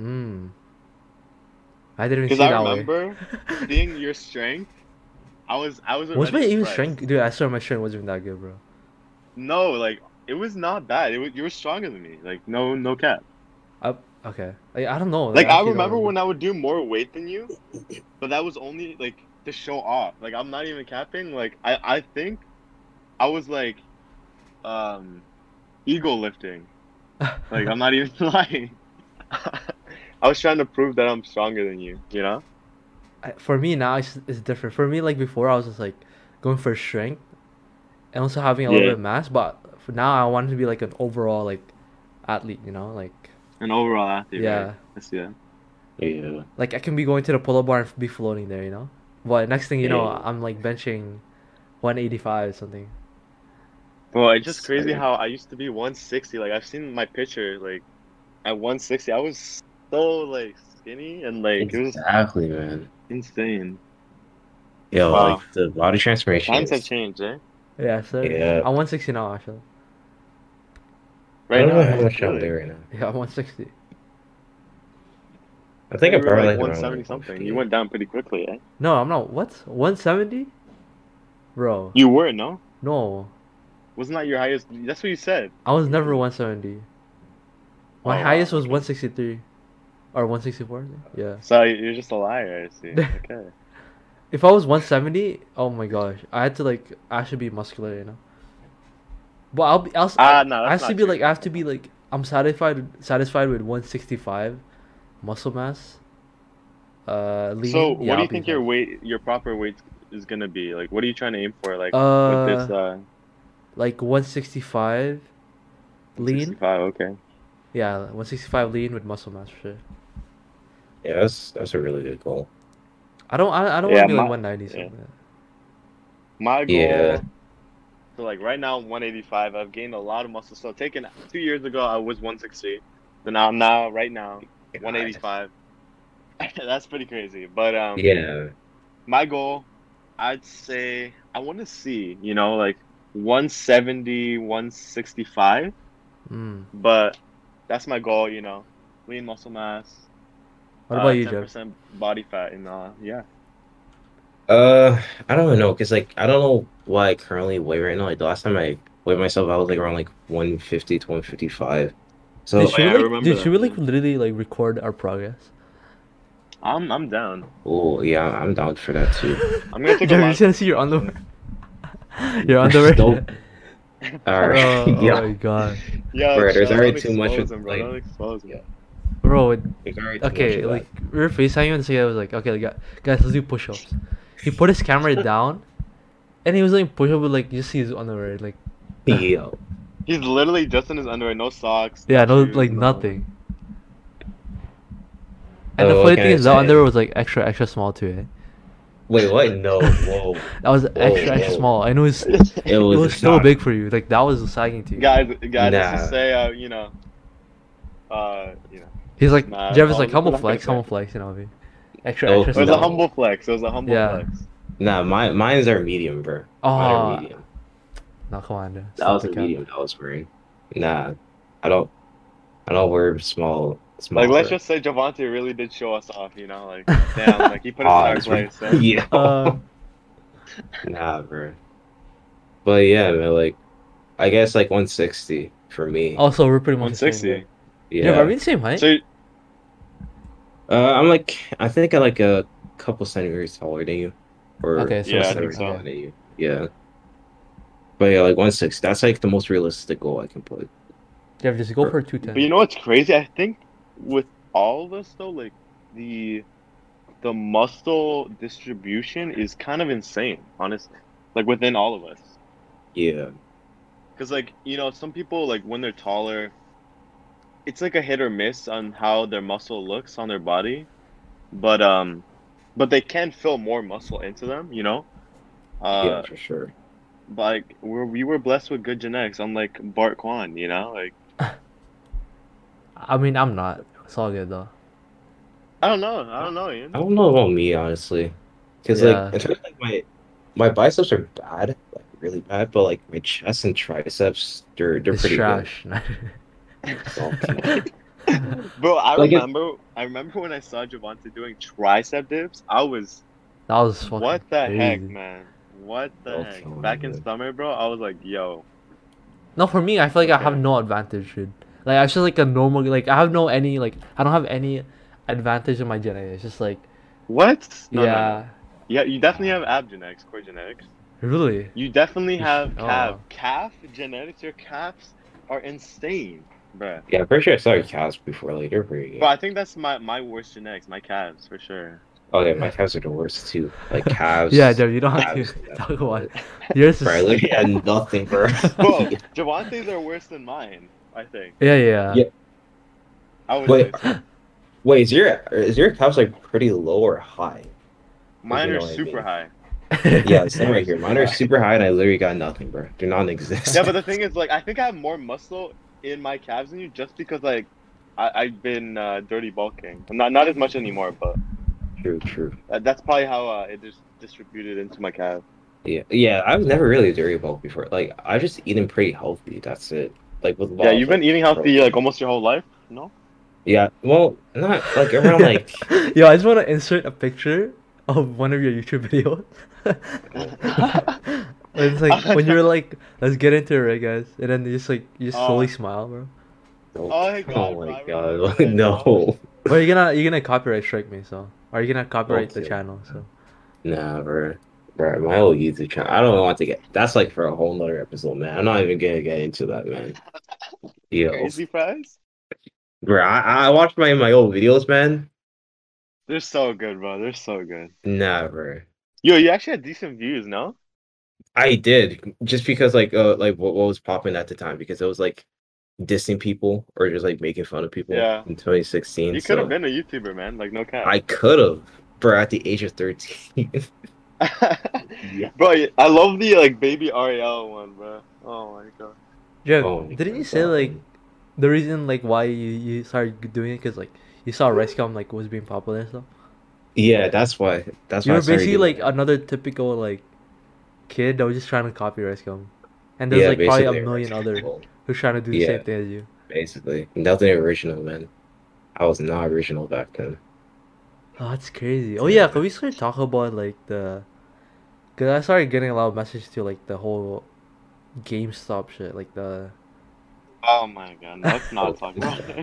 I didn't Because see I that remember way. seeing your strength. I was Was already my even impressed. strength? Dude, I swear my strength wasn't even that good, bro. No, like it was not bad. You were stronger than me. Like no cap. Okay. I don't know. Like I actually don't remember when I would do more weight than you, but that was only like to show off. Like I'm not even capping. Like I think I was like ego lifting. Like I'm not even lying. I was trying to prove that I'm stronger than you, you know? For me now, it's different. For me, like before, I was just like going for strength and also having a little Yeah. bit of mass. But for now, I wanted to be like an overall like athlete, you know, like An overall athlete, yeah, right? I see that. Yeah. like I can be going to the pull-up bar and be floating there, you know. But next thing you know, Yeah. I'm like benching 185 or something. Well, it's just crazy Same. how I used to be 160. Like I've seen my picture, like at 160, I was so like skinny and like it was Exactly, man. insane. Yo, Wow. like the body transformation. Times have Is, changed, eh? Yeah, so Yeah. I'm 160 now actually. I Right don't now, know how eh? much I'm Really? there right now. Yeah, I'm 160. I think You I'm were probably like like 170 around something. 150. You went down pretty quickly, eh? No, I'm not. What? 170? Bro, You were, no? no. Wasn't that your highest? That's what you said. I was never 170. My Oh, wow, highest was okay. 163 or 164. Yeah. So you're just a liar, I see. Okay. If I was 170, oh my gosh, I had to like actually be muscular, you know. But No, I that's have to not be true. like I have to be like I'm satisfied with 165 muscle mass. Lean. So yeah, what do I'll you be think your proper weight is gonna be? Like, what are you trying to aim for? Like with this like 165 lean. 65, okay. Yeah, 165 lean with muscle mass for sure. Yeah, that's a really good goal. I don't want Yeah, to be like my- 190 yeah. something. My goal. Yeah. So like right now I'm 185. I've gained a lot of muscle. So taking 2 years ago I was 160. So now right now 185. That's pretty crazy. But Yeah. my goal, I'd say I want to see, you know, like 170, 165. Mm. But that's my goal, you know. Lean muscle mass. What about you, Jeff? 10% body fat, and yeah. I don't even know, cause like I don't know what I currently weigh right now. Like the last time I weighed myself, I was like around like 150 to 155. So Dude, should yeah, I we like, remember dude, should we that. like literally like record our progress? I'm down. oh yeah, I'm down for that too. I'm gonna take a Jeff, you lot. just gonna see your underwear. Your underwear. Nope. All right. Oh, yeah. oh my god. Yeah, Bro, there's chill, already don't too much expose with, him, bro. like- Don't expose him. Yeah. Bro, Like, already too much okay, of like we were FaceTiming and so I was like, okay, like, guys, let's do push-ups. He put his camera down, and he was like push-up with like you just see his underwear, like that. Yo. He's literally just in his underwear, no socks. yeah, no, shoes, like no- nothing. And the Oh, funny what thing can I is, the say? underwear was like extra small too. Eh? Wait, what? No, whoa. That was extra whoa. small, and It it was so not- big for you. Like that was sagging to you. Guys, let's Nah. just say, He's like, Nah, Jeff is I like was humble not gonna flex, say. humble flex, you know what I mean? Extra Oh, it was small. a humble flex. It was a humble Yeah. flex. Nah, mine's are medium, bro. Mine Oh, are medium. no, come on, dude. That Stop was the a cap. medium that I was wearing. Nah, I don't wear small. Like, let's bro. just say Javante really did show us off, Like, damn, like he put us in our Pause, place. bro. So. Yeah. Nah, bro. But yeah, man, like, I guess like 160 for me. Also, we're pretty much the same. 160. Yeah. Jeff, are we the same height? So, I'm like, I think I'm like a couple centimeters taller than you, or Okay, so Yeah, I think centimeters so. taller than you. Yeah. But yeah, like 160. That's like the most realistic goal I can put. Jeff, just go for but 210. you know what's crazy? I think with all of us though, like the muscle distribution is kind of insane, honestly. Like within all of us. Yeah. Because, like, some people, like, when they're taller, it's like a hit or miss on how their muscle looks on their body. But they can fill more muscle into them, Yeah, for sure. But, like, we were blessed with good genetics, unlike Bart Kwan, Like, I mean, I'm not. It's all good though. I don't know, Ian. I don't know about me, honestly. Because, Yeah. like, in terms of, like, my biceps are bad, like, really bad, but, like, my chest and triceps, they're It's pretty trash. good. Bro, I Like, remember when I saw Javante doing tricep dips, I was, That was fucking what the heck, crazy. man? What the Oh, heck? come Back on, in man. summer, bro, I was like, yo. No, for me, I feel like I have Okay. no advantage, dude. Like, I just like a normal, like, I have no any, like, I don't have any advantage in my genetics. It's just like, What? No, no, no. yeah, Yeah, you definitely have ab genetics, core genetics. really. You definitely have Oh. calf genetics. Your calves are insane, bruh. Yeah, I'm pretty sure I saw your calves before, like, they're pretty good. But I think that's my worst genetics, my calves for sure. Oh, yeah, my calves are the worst, too. Like, calves. Yeah, Jeff, you don't have calves, to yeah. talk about it. Yours is. Bro, I literally had nothing, bro. Bro, Javante's are worse than mine, I think. Yeah. Yeah. I would Wait. say so. Wait, is your calves, like, pretty low or high? Mine You are know what I super mean. high. Yeah, same right here. Mine are super high, and I literally got nothing, bro. They're non-existent. Yeah, but the thing is, like, I think I have more muscle in my calves than you, just because, like, I've been dirty bulking. Not as much anymore, but True. that's probably how it just distributed into my calf. Yeah. I was never really a dairy bulk before. Like, I just eating pretty healthy. That's it. Like with Yeah, you've been eating healthy like almost your whole life, no? Yeah, well, not like around like. Yo, I just want to insert a picture of one of your YouTube videos. It's like when you're like, let's get into it, right, guys? And then you just slowly smile, bro. Oh my God, Oh bro, I my remember god! that. No. Well, you're gonna copyright strike me, so are you gonna copyright the Okay. channel? So Nah, bro. Bro, my whole YouTube channel. I don't want to get. That's like for a whole nother episode, man. I'm not even gonna get into that, man. Yo, Crazy fries? bro, I watched my old videos, man. They're so good, bro. They're so good. Nah, bro. Yo, you actually had decent views, no? I did just because like what was popping at the time because it was like dissing people or just like making fun of people Yeah. in 2016. You could have been a YouTuber, man. Like, no cap. I could have, bro, at the age of 13. Yeah. Bro, I love the like baby Ariel one, bro. Oh my God. Jeff, Oh my didn't you God. say like the reason like why you started doing it because like you saw Ricegum like was being popular and stuff? Yeah, that's why. That's You why I were started basically doing like it. another typical like kid that was just trying to copy Ricegum, and there's Yeah, like probably a basically, million others well, who's trying to do the Yeah. same thing as you. basically nothing original, man. I was not original back then. Oh, that's crazy. Oh yeah, can we start talking about like the? Cause I started getting a lot of messages to like the whole GameStop shit, like the. Oh my God. Let's not talk about it.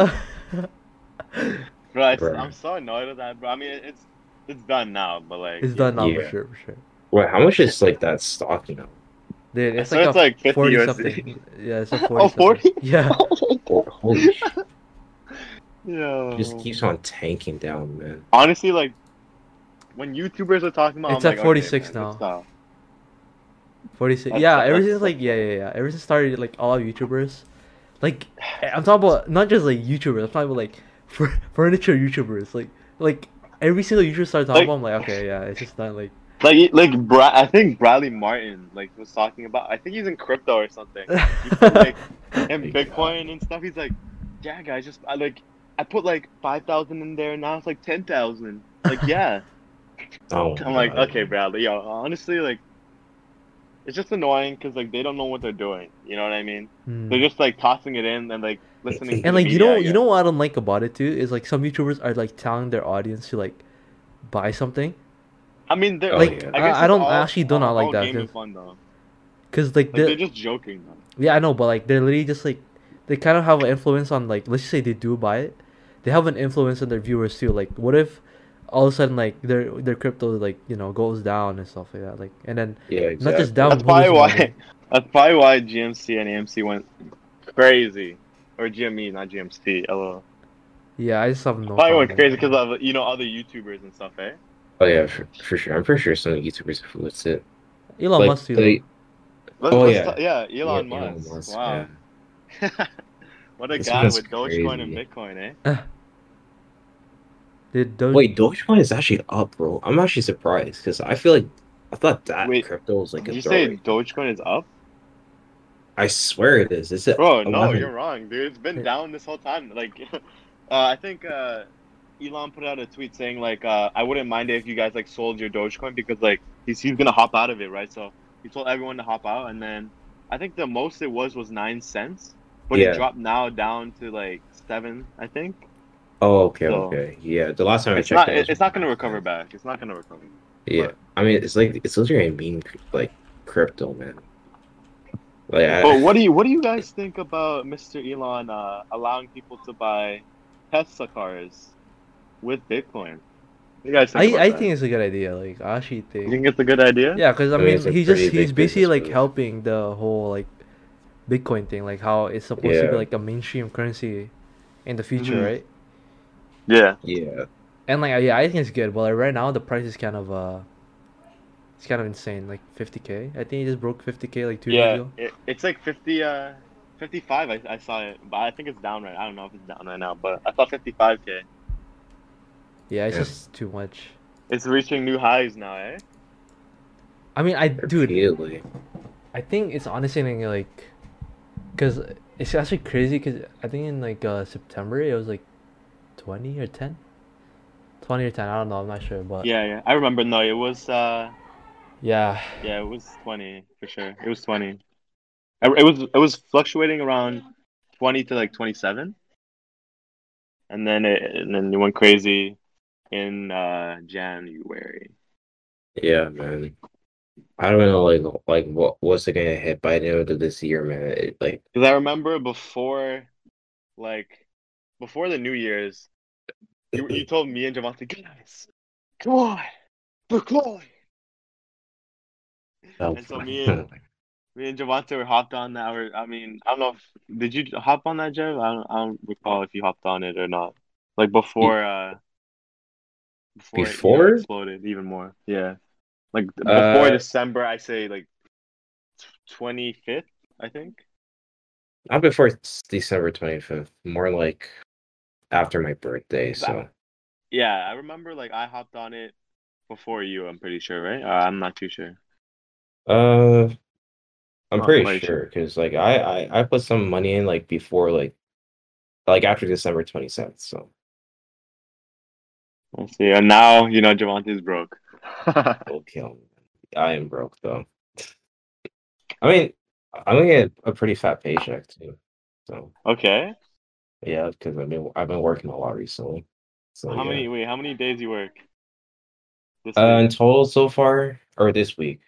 It's Bro, Bro. I'm so annoyed with that, bro. I mean, it's done now, but like. done now Yeah. for sure. Wait, how much is like that stock? You know, Dude, it's So like it's a like 50 40 USD. something. Yeah, it's a 40 Oh, 40? something. Yeah. holy shit. Just Yo. keeps on tanking down, man. Honestly, like when YouTubers are talking about, It's I'm at like, okay, 46 man, good now. stuff. 46. That's Yeah, ever since that's like yeah. Ever since started like all YouTubers, like I'm talking about not just like YouTubers. I'm talking about like furniture YouTubers. Like every single YouTuber started talking like about. I'm like, okay, yeah, it's just not like. I think Bradley Martin like was talking about. I think he's in crypto or something. He put like in Bitcoin and stuff. He's like, yeah, guys, I put like 5,000 in there, and now it's like 10,000. Like, yeah. Oh my I'm like, god. okay, Bradley. Yo, honestly, like, it's just annoying because like they don't know what they're doing. You know what I mean? They're Hmm. just like tossing it in and like listening to And the like media, I you guess. know what I don't like about it too is like some YouTubers are like telling their audience to like buy something. I mean, they're Oh Like yeah. I guess I it's don't I actually don't not like all that game and fun though. because like Like they're the just joking though. yeah I know but like they're literally just like they kind of have an influence on like let's just say they do buy it, they have an influence on their viewers too. Like what if all of a sudden like their crypto like goes down and stuff like that, like and then Yeah, not just exactly. down That's who probably loses money. why. That's probably why GMC and AMC went crazy, or GME, not GMC. LOL. Yeah, I just have no Probably went problem crazy with because that. of other YouTubers and stuff, eh? Oh yeah, for sure. I'm pretty sure some YouTubers influenced it. Elon Like Musk too though. the Oh yeah, Yeah, yeah, Elon Elon Musk. Musk, Wow, man. what a This guy man's with Dogecoin and crazy. Bitcoin, eh? Did don't Wait, Dogecoin is actually up, bro. I'm actually surprised because I feel like I thought that Wait, crypto was like did a you throw say right now. Dogecoin is up? I swear it is. It's at Bro, no, you're 11. wrong, dude. It's been eh, down this whole time. Like, I think Elon put out a tweet saying like, I wouldn't mind it if you guys like sold your Dogecoin because like he's gonna hop out of it, right? So he told everyone to hop out, and then I think the most it was 9 cents, but it Yeah. dropped now down to like 7, I think. Oh, okay, So okay. Yeah, the last time I it's checked, not it was it's not gonna 9 recover cents. back. It's not gonna recover. Yeah, But I mean, it's literally a meme, like crypto, man. Like, but what do you guys think about Mr. Elon allowing people to buy Tesla cars with Bitcoin? What do you guys think about I that? think it's a good idea. Like I actually You think think it's a good idea? yeah, because I I mean, mean it's a pretty he's big basically business like move. helping the whole like Bitcoin thing, like how it's supposed to be Yeah, like a mainstream currency in the future, Hmm. right? Yeah. yeah. And like yeah, I think it's good. But like right now the price is kind of it's kind of insane, like 50K. I think it just broke 50K like 2 days Yeah. ago. It's like 55. I saw it, but I think it's down right. I don't know if it's down right now, but I saw 55K. Yeah, it's Yeah. just too much. It's reaching new highs now, eh? I mean, dude, Repeatedly. I think it's honestly like, cause it's actually crazy. Cause I think in like September it was like 20 or 10, 20 or 10. I don't know. I'm not sure, but Yeah. I remember. No, it was. yeah, Yeah, it was 20 for sure. It was 20. It was fluctuating around 20 to like 27, and then it went crazy in January. Yeah, man. I don't know, like what's it gonna hit by the end of this year, man? Like, Because I remember like before the New Year's, you told me and Javante, guys, come on, Bitcoin. oh, And so me and Javante were hopped on that. Or I mean, I don't know if did you hop on that, Jeff? I don't recall if you hopped on it or not. Like before it before, exploded even more. Yeah, like before uh, December, I say like 25th, I think. not before December 25th, more like after my birthday. 'Cause So, yeah, I remember like I hopped on it before you. I'm pretty sure, right? I'm not too sure. uh, I'm Not pretty quite sure sure. because like I put some money in like before like after December 27th. So, Let's see. And now Javante's broke. it'll kill me. I am broke though. I mean, I'm gonna get a pretty fat paycheck too. So Okay. yeah, because I've been working a lot recently. So yeah. How many days you work this week? In total so far, or this week,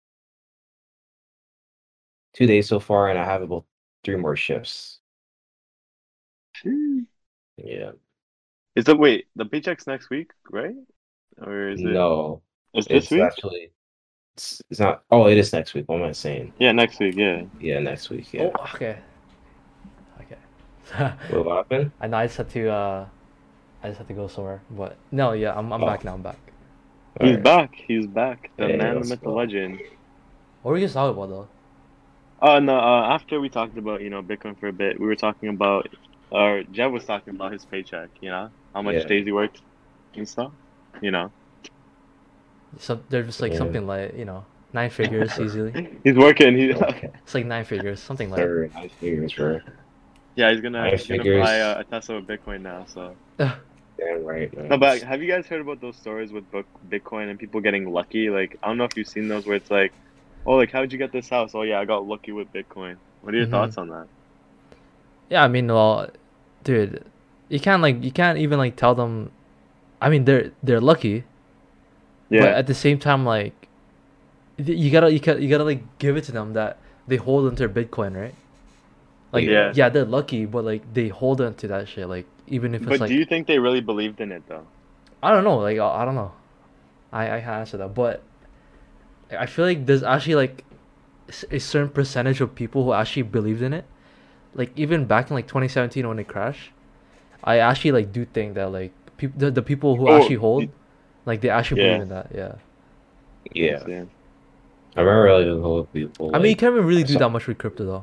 2 days so far, and I have about 3 more shifts. Hmm. Yeah. Wait, the paycheck's next week, right? Or No, is this it's week? actually it's not. Oh, it is next week. What am I saying? Yeah, next week, yeah. Yeah, next week. oh Yeah. okay, okay. What happened? I know I just had to go somewhere, but no, yeah, I'm Oh, back now. I'm back. He's alright. back. He's back. The Hey, man, the let's myth, the go. legend. What were you guys talking about though? Oh no! After we talked about Bitcoin for a bit, we were talking about, or Jeff was talking about his paycheck. How much Yeah. days he worked and stuff. You know, So there's just like Yeah. something like 9 figures easily. he's working. Okay. It's like 9 figures, something like. Sir, 9 figures, bro. Yeah, he's 9 gonna figures. buy a Tesla with Bitcoin now. So Damn right, no, man. but have you guys heard about those stories with Bitcoin and people getting lucky? Like, I don't know if you've seen those where it's like, oh, like how'd you get this house? Oh yeah, I got lucky with Bitcoin. What are your Mhm. thoughts on that? Yeah, I mean, well, dude, you can't even like tell them. I mean, they're lucky, but Yeah, at the same time, like, you gotta like give it to them that they hold onto their Bitcoin, right? Like, yeah. yeah, they're lucky, but like they hold on to that shit. Like, even if it's But do like, you think they really believed in it though? I don't know, like I don't know, I can't answer that, but I feel like there's actually like a certain percentage of people who actually believed in it. Like even back in like 2017 when it crashed, I actually like do think that like the people who Oh, actually hold, like they actually believe yeah. in that. Yeah. Yeah. Yeah. I remember like a whole people I mean, you like can't even really I do saw that much with crypto though.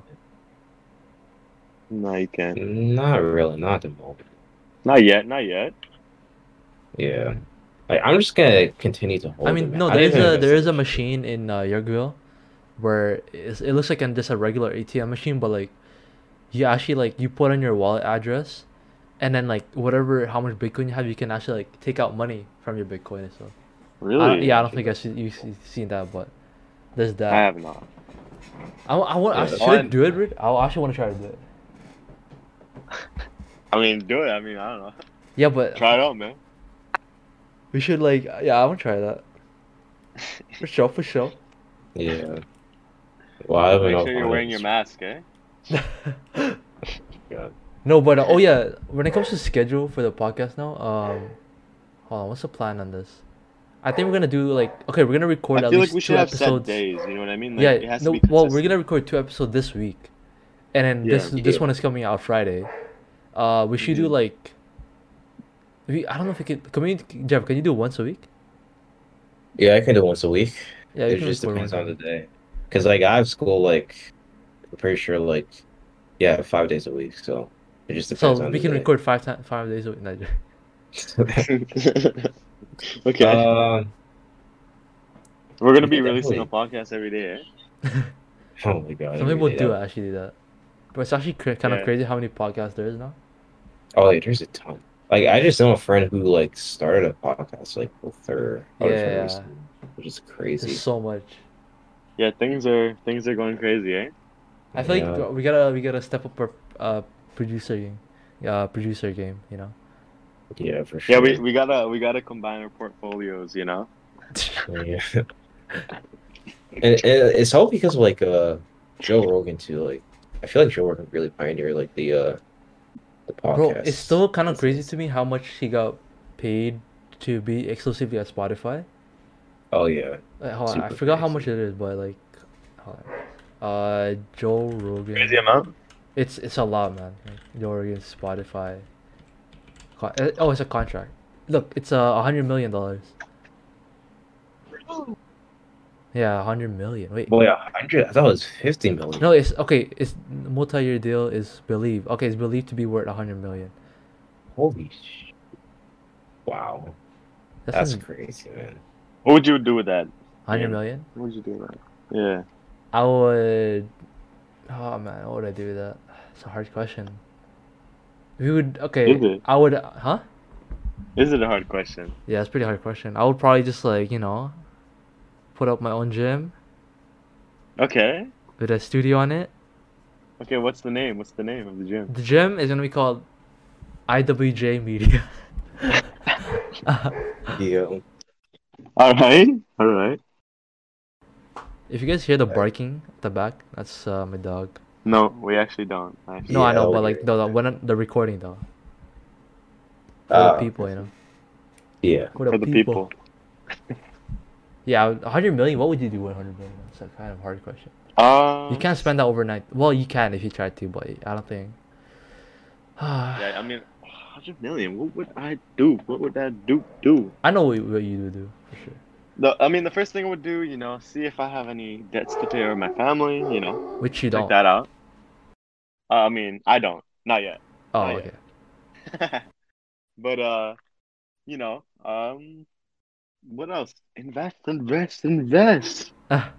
No, you can't. not really, not at the moment. Not yet. Not yet. Yeah. Like I'm just gonna continue to I hold it, mean, man. no, I didn't even invest there in is a this shit. machine in Yorkville where it looks like just a regular ATM machine, but like you actually like you put in your wallet address, and then like whatever how much Bitcoin you have, you can actually like take out money from your Bitcoin and stuff. Really? Yeah, I don't think you've seen that, but there's I that. have not. I Yeah, should that's I On. do it, Rick? I actually want to try to do it. I mean, do it. I mean, I don't know. Yeah, but Try it out, man. we should like yeah, I want to try that for sure, for sure. yeah. Well, I have Make enough sure you're on wearing it. your mask, eh? God. No, but oh yeah, when it comes to schedule for the podcast now, hold on, what's the plan on this? I think we're gonna do like okay, we're gonna I record at feel like we least should two have set episodes. days. You know what I mean? Like Yeah, it has to no, be well, we're gonna consistent. record 2 episodes this week, and then Yeah. this Yeah. one is coming out Friday. We should do Mhm. like I don't know if we could. Can we, Jeff? Can you do once a week? Yeah, I can do once a week. Yeah, we It can just record depends once a on the week. day. Because like I have school like I'm pretty sure like yeah, 5 days a week, so it just depends So on we the can day. record 5 days a week. No, Okay. Um We're gonna be yeah, releasing a definitely. podcast every day, eh? Oh my god, some every people day. do That actually do that, but it's actually kind of Yeah. crazy how many podcasts there is now. oh yeah, there's a ton. Like I just know a friend who like started a podcast like with her Yeah, other friend yeah, yeah. recently, which is There's crazy. so much. Yeah, things are going crazy, eh? I feel Yeah, like we gotta step up our producer game, producer game. You know. yeah, for Yeah, sure. we gotta combine our portfolios, you know? Yeah. And it's all because of like Joe Rogan too. Like I feel like Joe Rogan really pioneered like the Bro, it's podcast still kind of crazy business. to me how much he got paid to be exclusively at Spotify. Oh yeah, Hold on, I super forgot how much crazy. it is, but like, hold on. Joe Crazy Rogan. amount? It's a lot, man. Like, Joe Rogan, Spotify. Oh, it's a contract. Look, it's $100 million. Yeah, 100 million. Wait, Boy, 100. I thought it was 50 million. no, it's okay. It's multi-year deal is believed. Okay, it's believed to be worth 100 million. Holy sh! Wow, That's that's in crazy, man. What would you do with that, 100 million. What would you do with that? Yeah. I would. Oh man, what would I do with that? It's a hard question. We would. Is Okay, it? I would. Huh? Is it a hard question? Yeah, it's a pretty hard question. I would probably just like put up my own gym Okay. with a studio on it. Okay, what's the name? What's the name of the gym? The gym is gonna be called IWJ Media. Yeah, Alright. Alright. If you guys hear the barking at the back, that's my dog. No, we actually don't. No, Actually. I know, yeah, but we're like when the recording though, for the uh, people, yeah. for the For the people. people. Yeah, 100 million. What would you do with 100 million? That's a kind of hard question. You can't spend that overnight. Well, you can if you try to, but I don't think. Yeah, I mean, 100 million. What would I do? What would that do? I know what you would do for sure. I mean, the first thing I would do, see if I have any debts to pay with my family. Which you Check don't. that out. I mean, I don't. Not yet. Oh, Not okay. yet. But what else? Invest.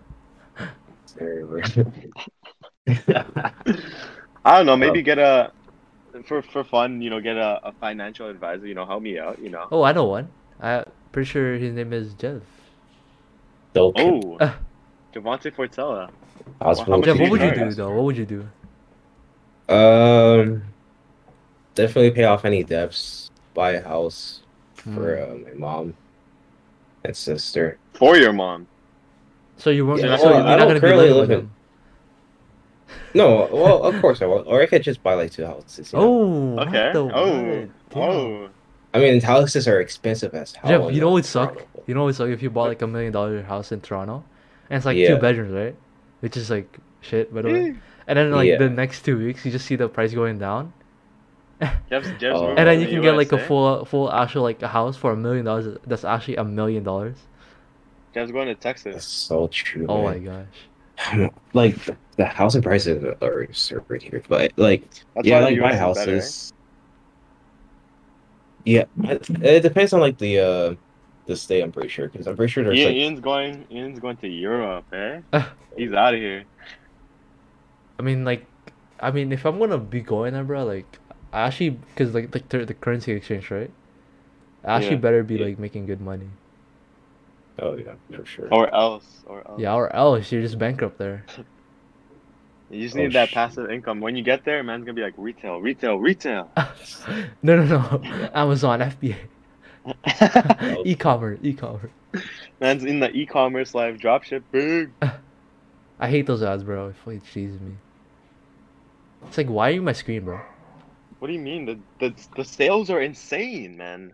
I don't know. Maybe get for fun. Get a financial advisor. Help me out. Oh, I know one. I pretty sure his name is Jeff. Oh, Javante Fortella. How Jeff, much what would you charge? do though? What would you do? Definitely pay off any debts. Buy a house for my mom and sister. For your mom. So you weren't. Yeah, so you're I not don't gonna be currently living with live in- them. No, well, of course I will. Or I could just buy like 2 houses. Oh, Okay. what the I mean, houses are expensive as hell. Jeff, you know what suck? Toronto. You know what suck if you bought like $1 million house in Toronto, and it's like Yeah. 2 bedrooms, right? Which is like shit, by the way. And then like Yeah. the next 2 weeks, you just see the price going down, Jeff's Oh. moving and then to you the can get like a USA. full actual like a house for $1 million. That's actually $1 million. Jeff's going to That's Texas. so true. Oh my man. gosh. Like the housing prices are absurd here, but like That's yeah, why the like my US is better, houses. Yeah, it depends on like the state. I'm pretty sure because I'm pretty sure there's like Ian's going to Europe, eh? He's out of here. I mean, if I'm gonna be going there, bro, like, I actually, because like the currency exchange, right? I actually Yeah. better be Yeah. like making good money. oh yeah for sure. Or else. Yeah, or else you're just bankrupt there. You just Oh, need that shit. passive income. When you get there, man's gonna be like retail. No. Amazon, FBA, e-commerce. Man's in the e-commerce life, dropship, big. I hate those ads, bro. It fucking cheeses me. It's like, why are you on my screen, bro? What do you mean? The sales are insane, man.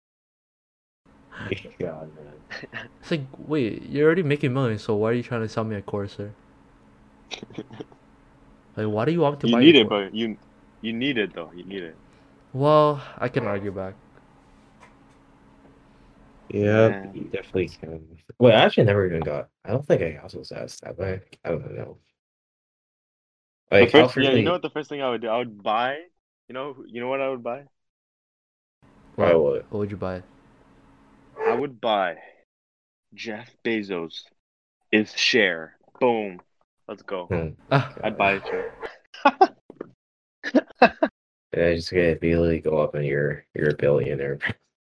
God, man. It's like, wait, you're already making millions, so why are you trying to sell me a Corsair? Like, why do you want me to You buy need your it, but you need it though. You need it. Well, I can argue back. Yeah, Man. you definitely can. Wait, I actually never even got. I don't think I also was asked that way. I don't know. The Like how first, frequently? you know what the first thing I would do? I would buy. You know what I would buy? Buy what? What would you buy? I would buy Jeff Bezos' share. Boom. Let's go. I'd buy a share. Yeah, just gonna immediately go up and you're a billionaire.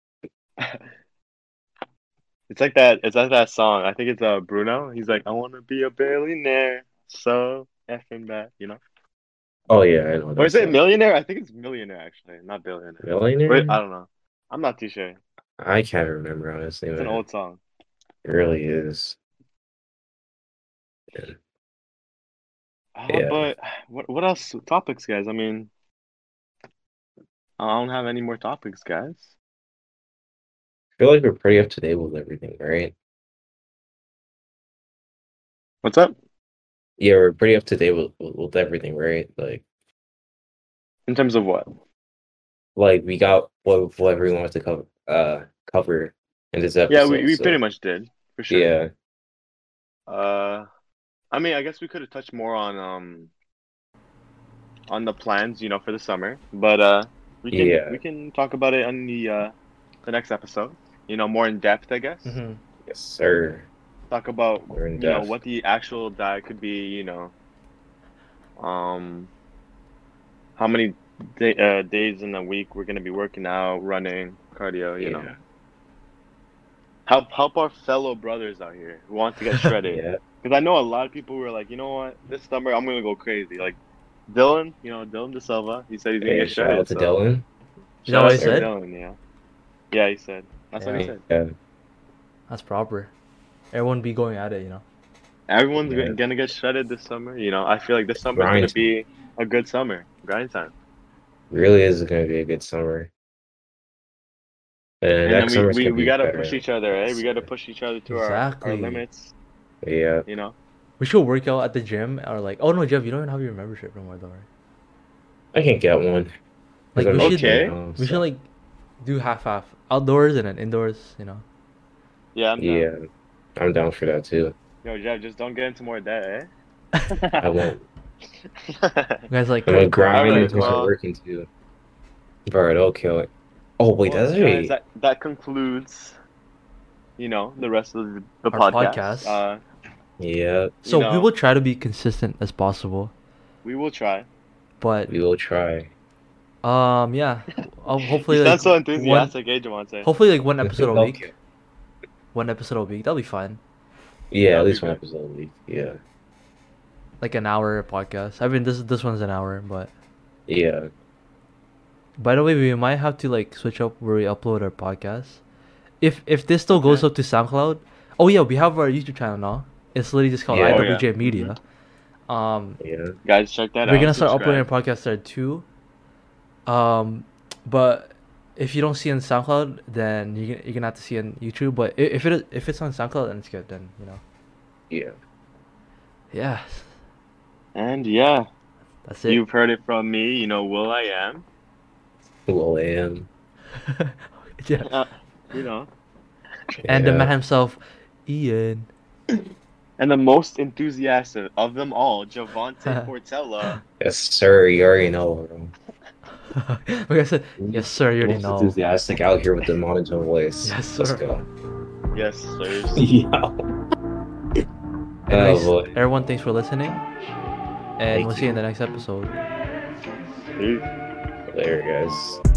It's like that song. I think it's Bruno. He's like, I want to be a billionaire. So effing bad, Oh yeah, I know. Or that is it song. millionaire? I think it's millionaire actually, not billionaire. Millionaire? Wait, I don't know. I'm not too sure. I can't remember honestly. It's an Man. old song. It really is. Yeah. Yeah. But what else? Topics, guys. I mean, I don't have any more topics, guys. I feel like we're pretty up to date with everything, right? What's up? Yeah, we're pretty up to date with everything, right? In terms of what? Like we got what we wanted to cover in this episode. Yeah, we so, pretty much did for sure. Yeah. I mean, I guess we could have touched more on the plans, for the summer, but we can talk about it on the next episode. More in depth, I guess. Mm-hmm. Yes, sir. Talk about We're in depth. what the actual diet could be. How many days in a week we're gonna be working out, running, cardio. You know, help our fellow brothers out here who want to get shredded. Yeah. Because I know a lot of people who are like, you know what, this summer I'm gonna go crazy. Like Dylan, Dylan De Silva, he said he's gonna Hey, get shout shredded. out to Dylan. You know what he Shout out said? to Dylan, yeah, he said. That's what he said. Yeah. That's proper. Everyone be going at it, Everyone's Yeah. gonna get shredded this summer. I feel like this summer is Grind gonna be a good summer. Grind time. Really is going to be a good summer. And And next then summer's gonna we be gotta better. push each other, eh? We gotta push each other to our Exactly. limits. Yeah. We should work out at the gym or like. Oh no, Jeff, you don't even have your membership no more, though, right? I can get one. Like, I'm we not should- sure, Okay. you know, We should so- like do half outdoors and then indoors. You know. Yeah, I'm down. Yeah, I'm down for that too. Yo, Jeff, just don't get into more debt, eh? I won't. You guys like I'm gonna grind Alright, and start well- working too. Alright, okay. Oh wait, Well, that's guys, right. that concludes, the rest of the Our podcast. podcast. Yeah, So we know. will try to be consistent as possible, We will try. but we will try. yeah, hopefully You like sound so one, enthusiastic, eh, Javante? hopefully like one episode a Okay. week. One episode a week. That'll be fine. Yeah, That'll at be least one good. episode a week. Yeah, Like an hour podcast. I mean, this one's an hour, but yeah. by the way, we might have to like switch up where we upload our podcast. If this still goes Okay. up to SoundCloud, oh yeah, we have our YouTube channel now. It's literally just called Yeah. Oh, IWJ yeah. Media. Yeah. Guys, check that out. We're gonna start Subscribe. uploading our podcast there too. But if you don't see it on SoundCloud, then you're gonna have to see it on YouTube. But if it's on SoundCloud, then it's good. Then Yeah. yeah, And yeah, that's it. you've heard it from me. Will I am. Well, I am. Yeah. You know, And the Yeah. man himself, Ian. and the most enthusiastic of them all, Javante Portella. Yes, sir. You already know. Bro. Like I said, yes sir, you already Most know. enthusiastic out here with the monotone voice. Yes, Let's sir. go. Yes, sir. Yeah. Anyways, Oh boy. everyone, thanks for listening, and Thank we'll see you you. in the next episode. Peace. Later, guys.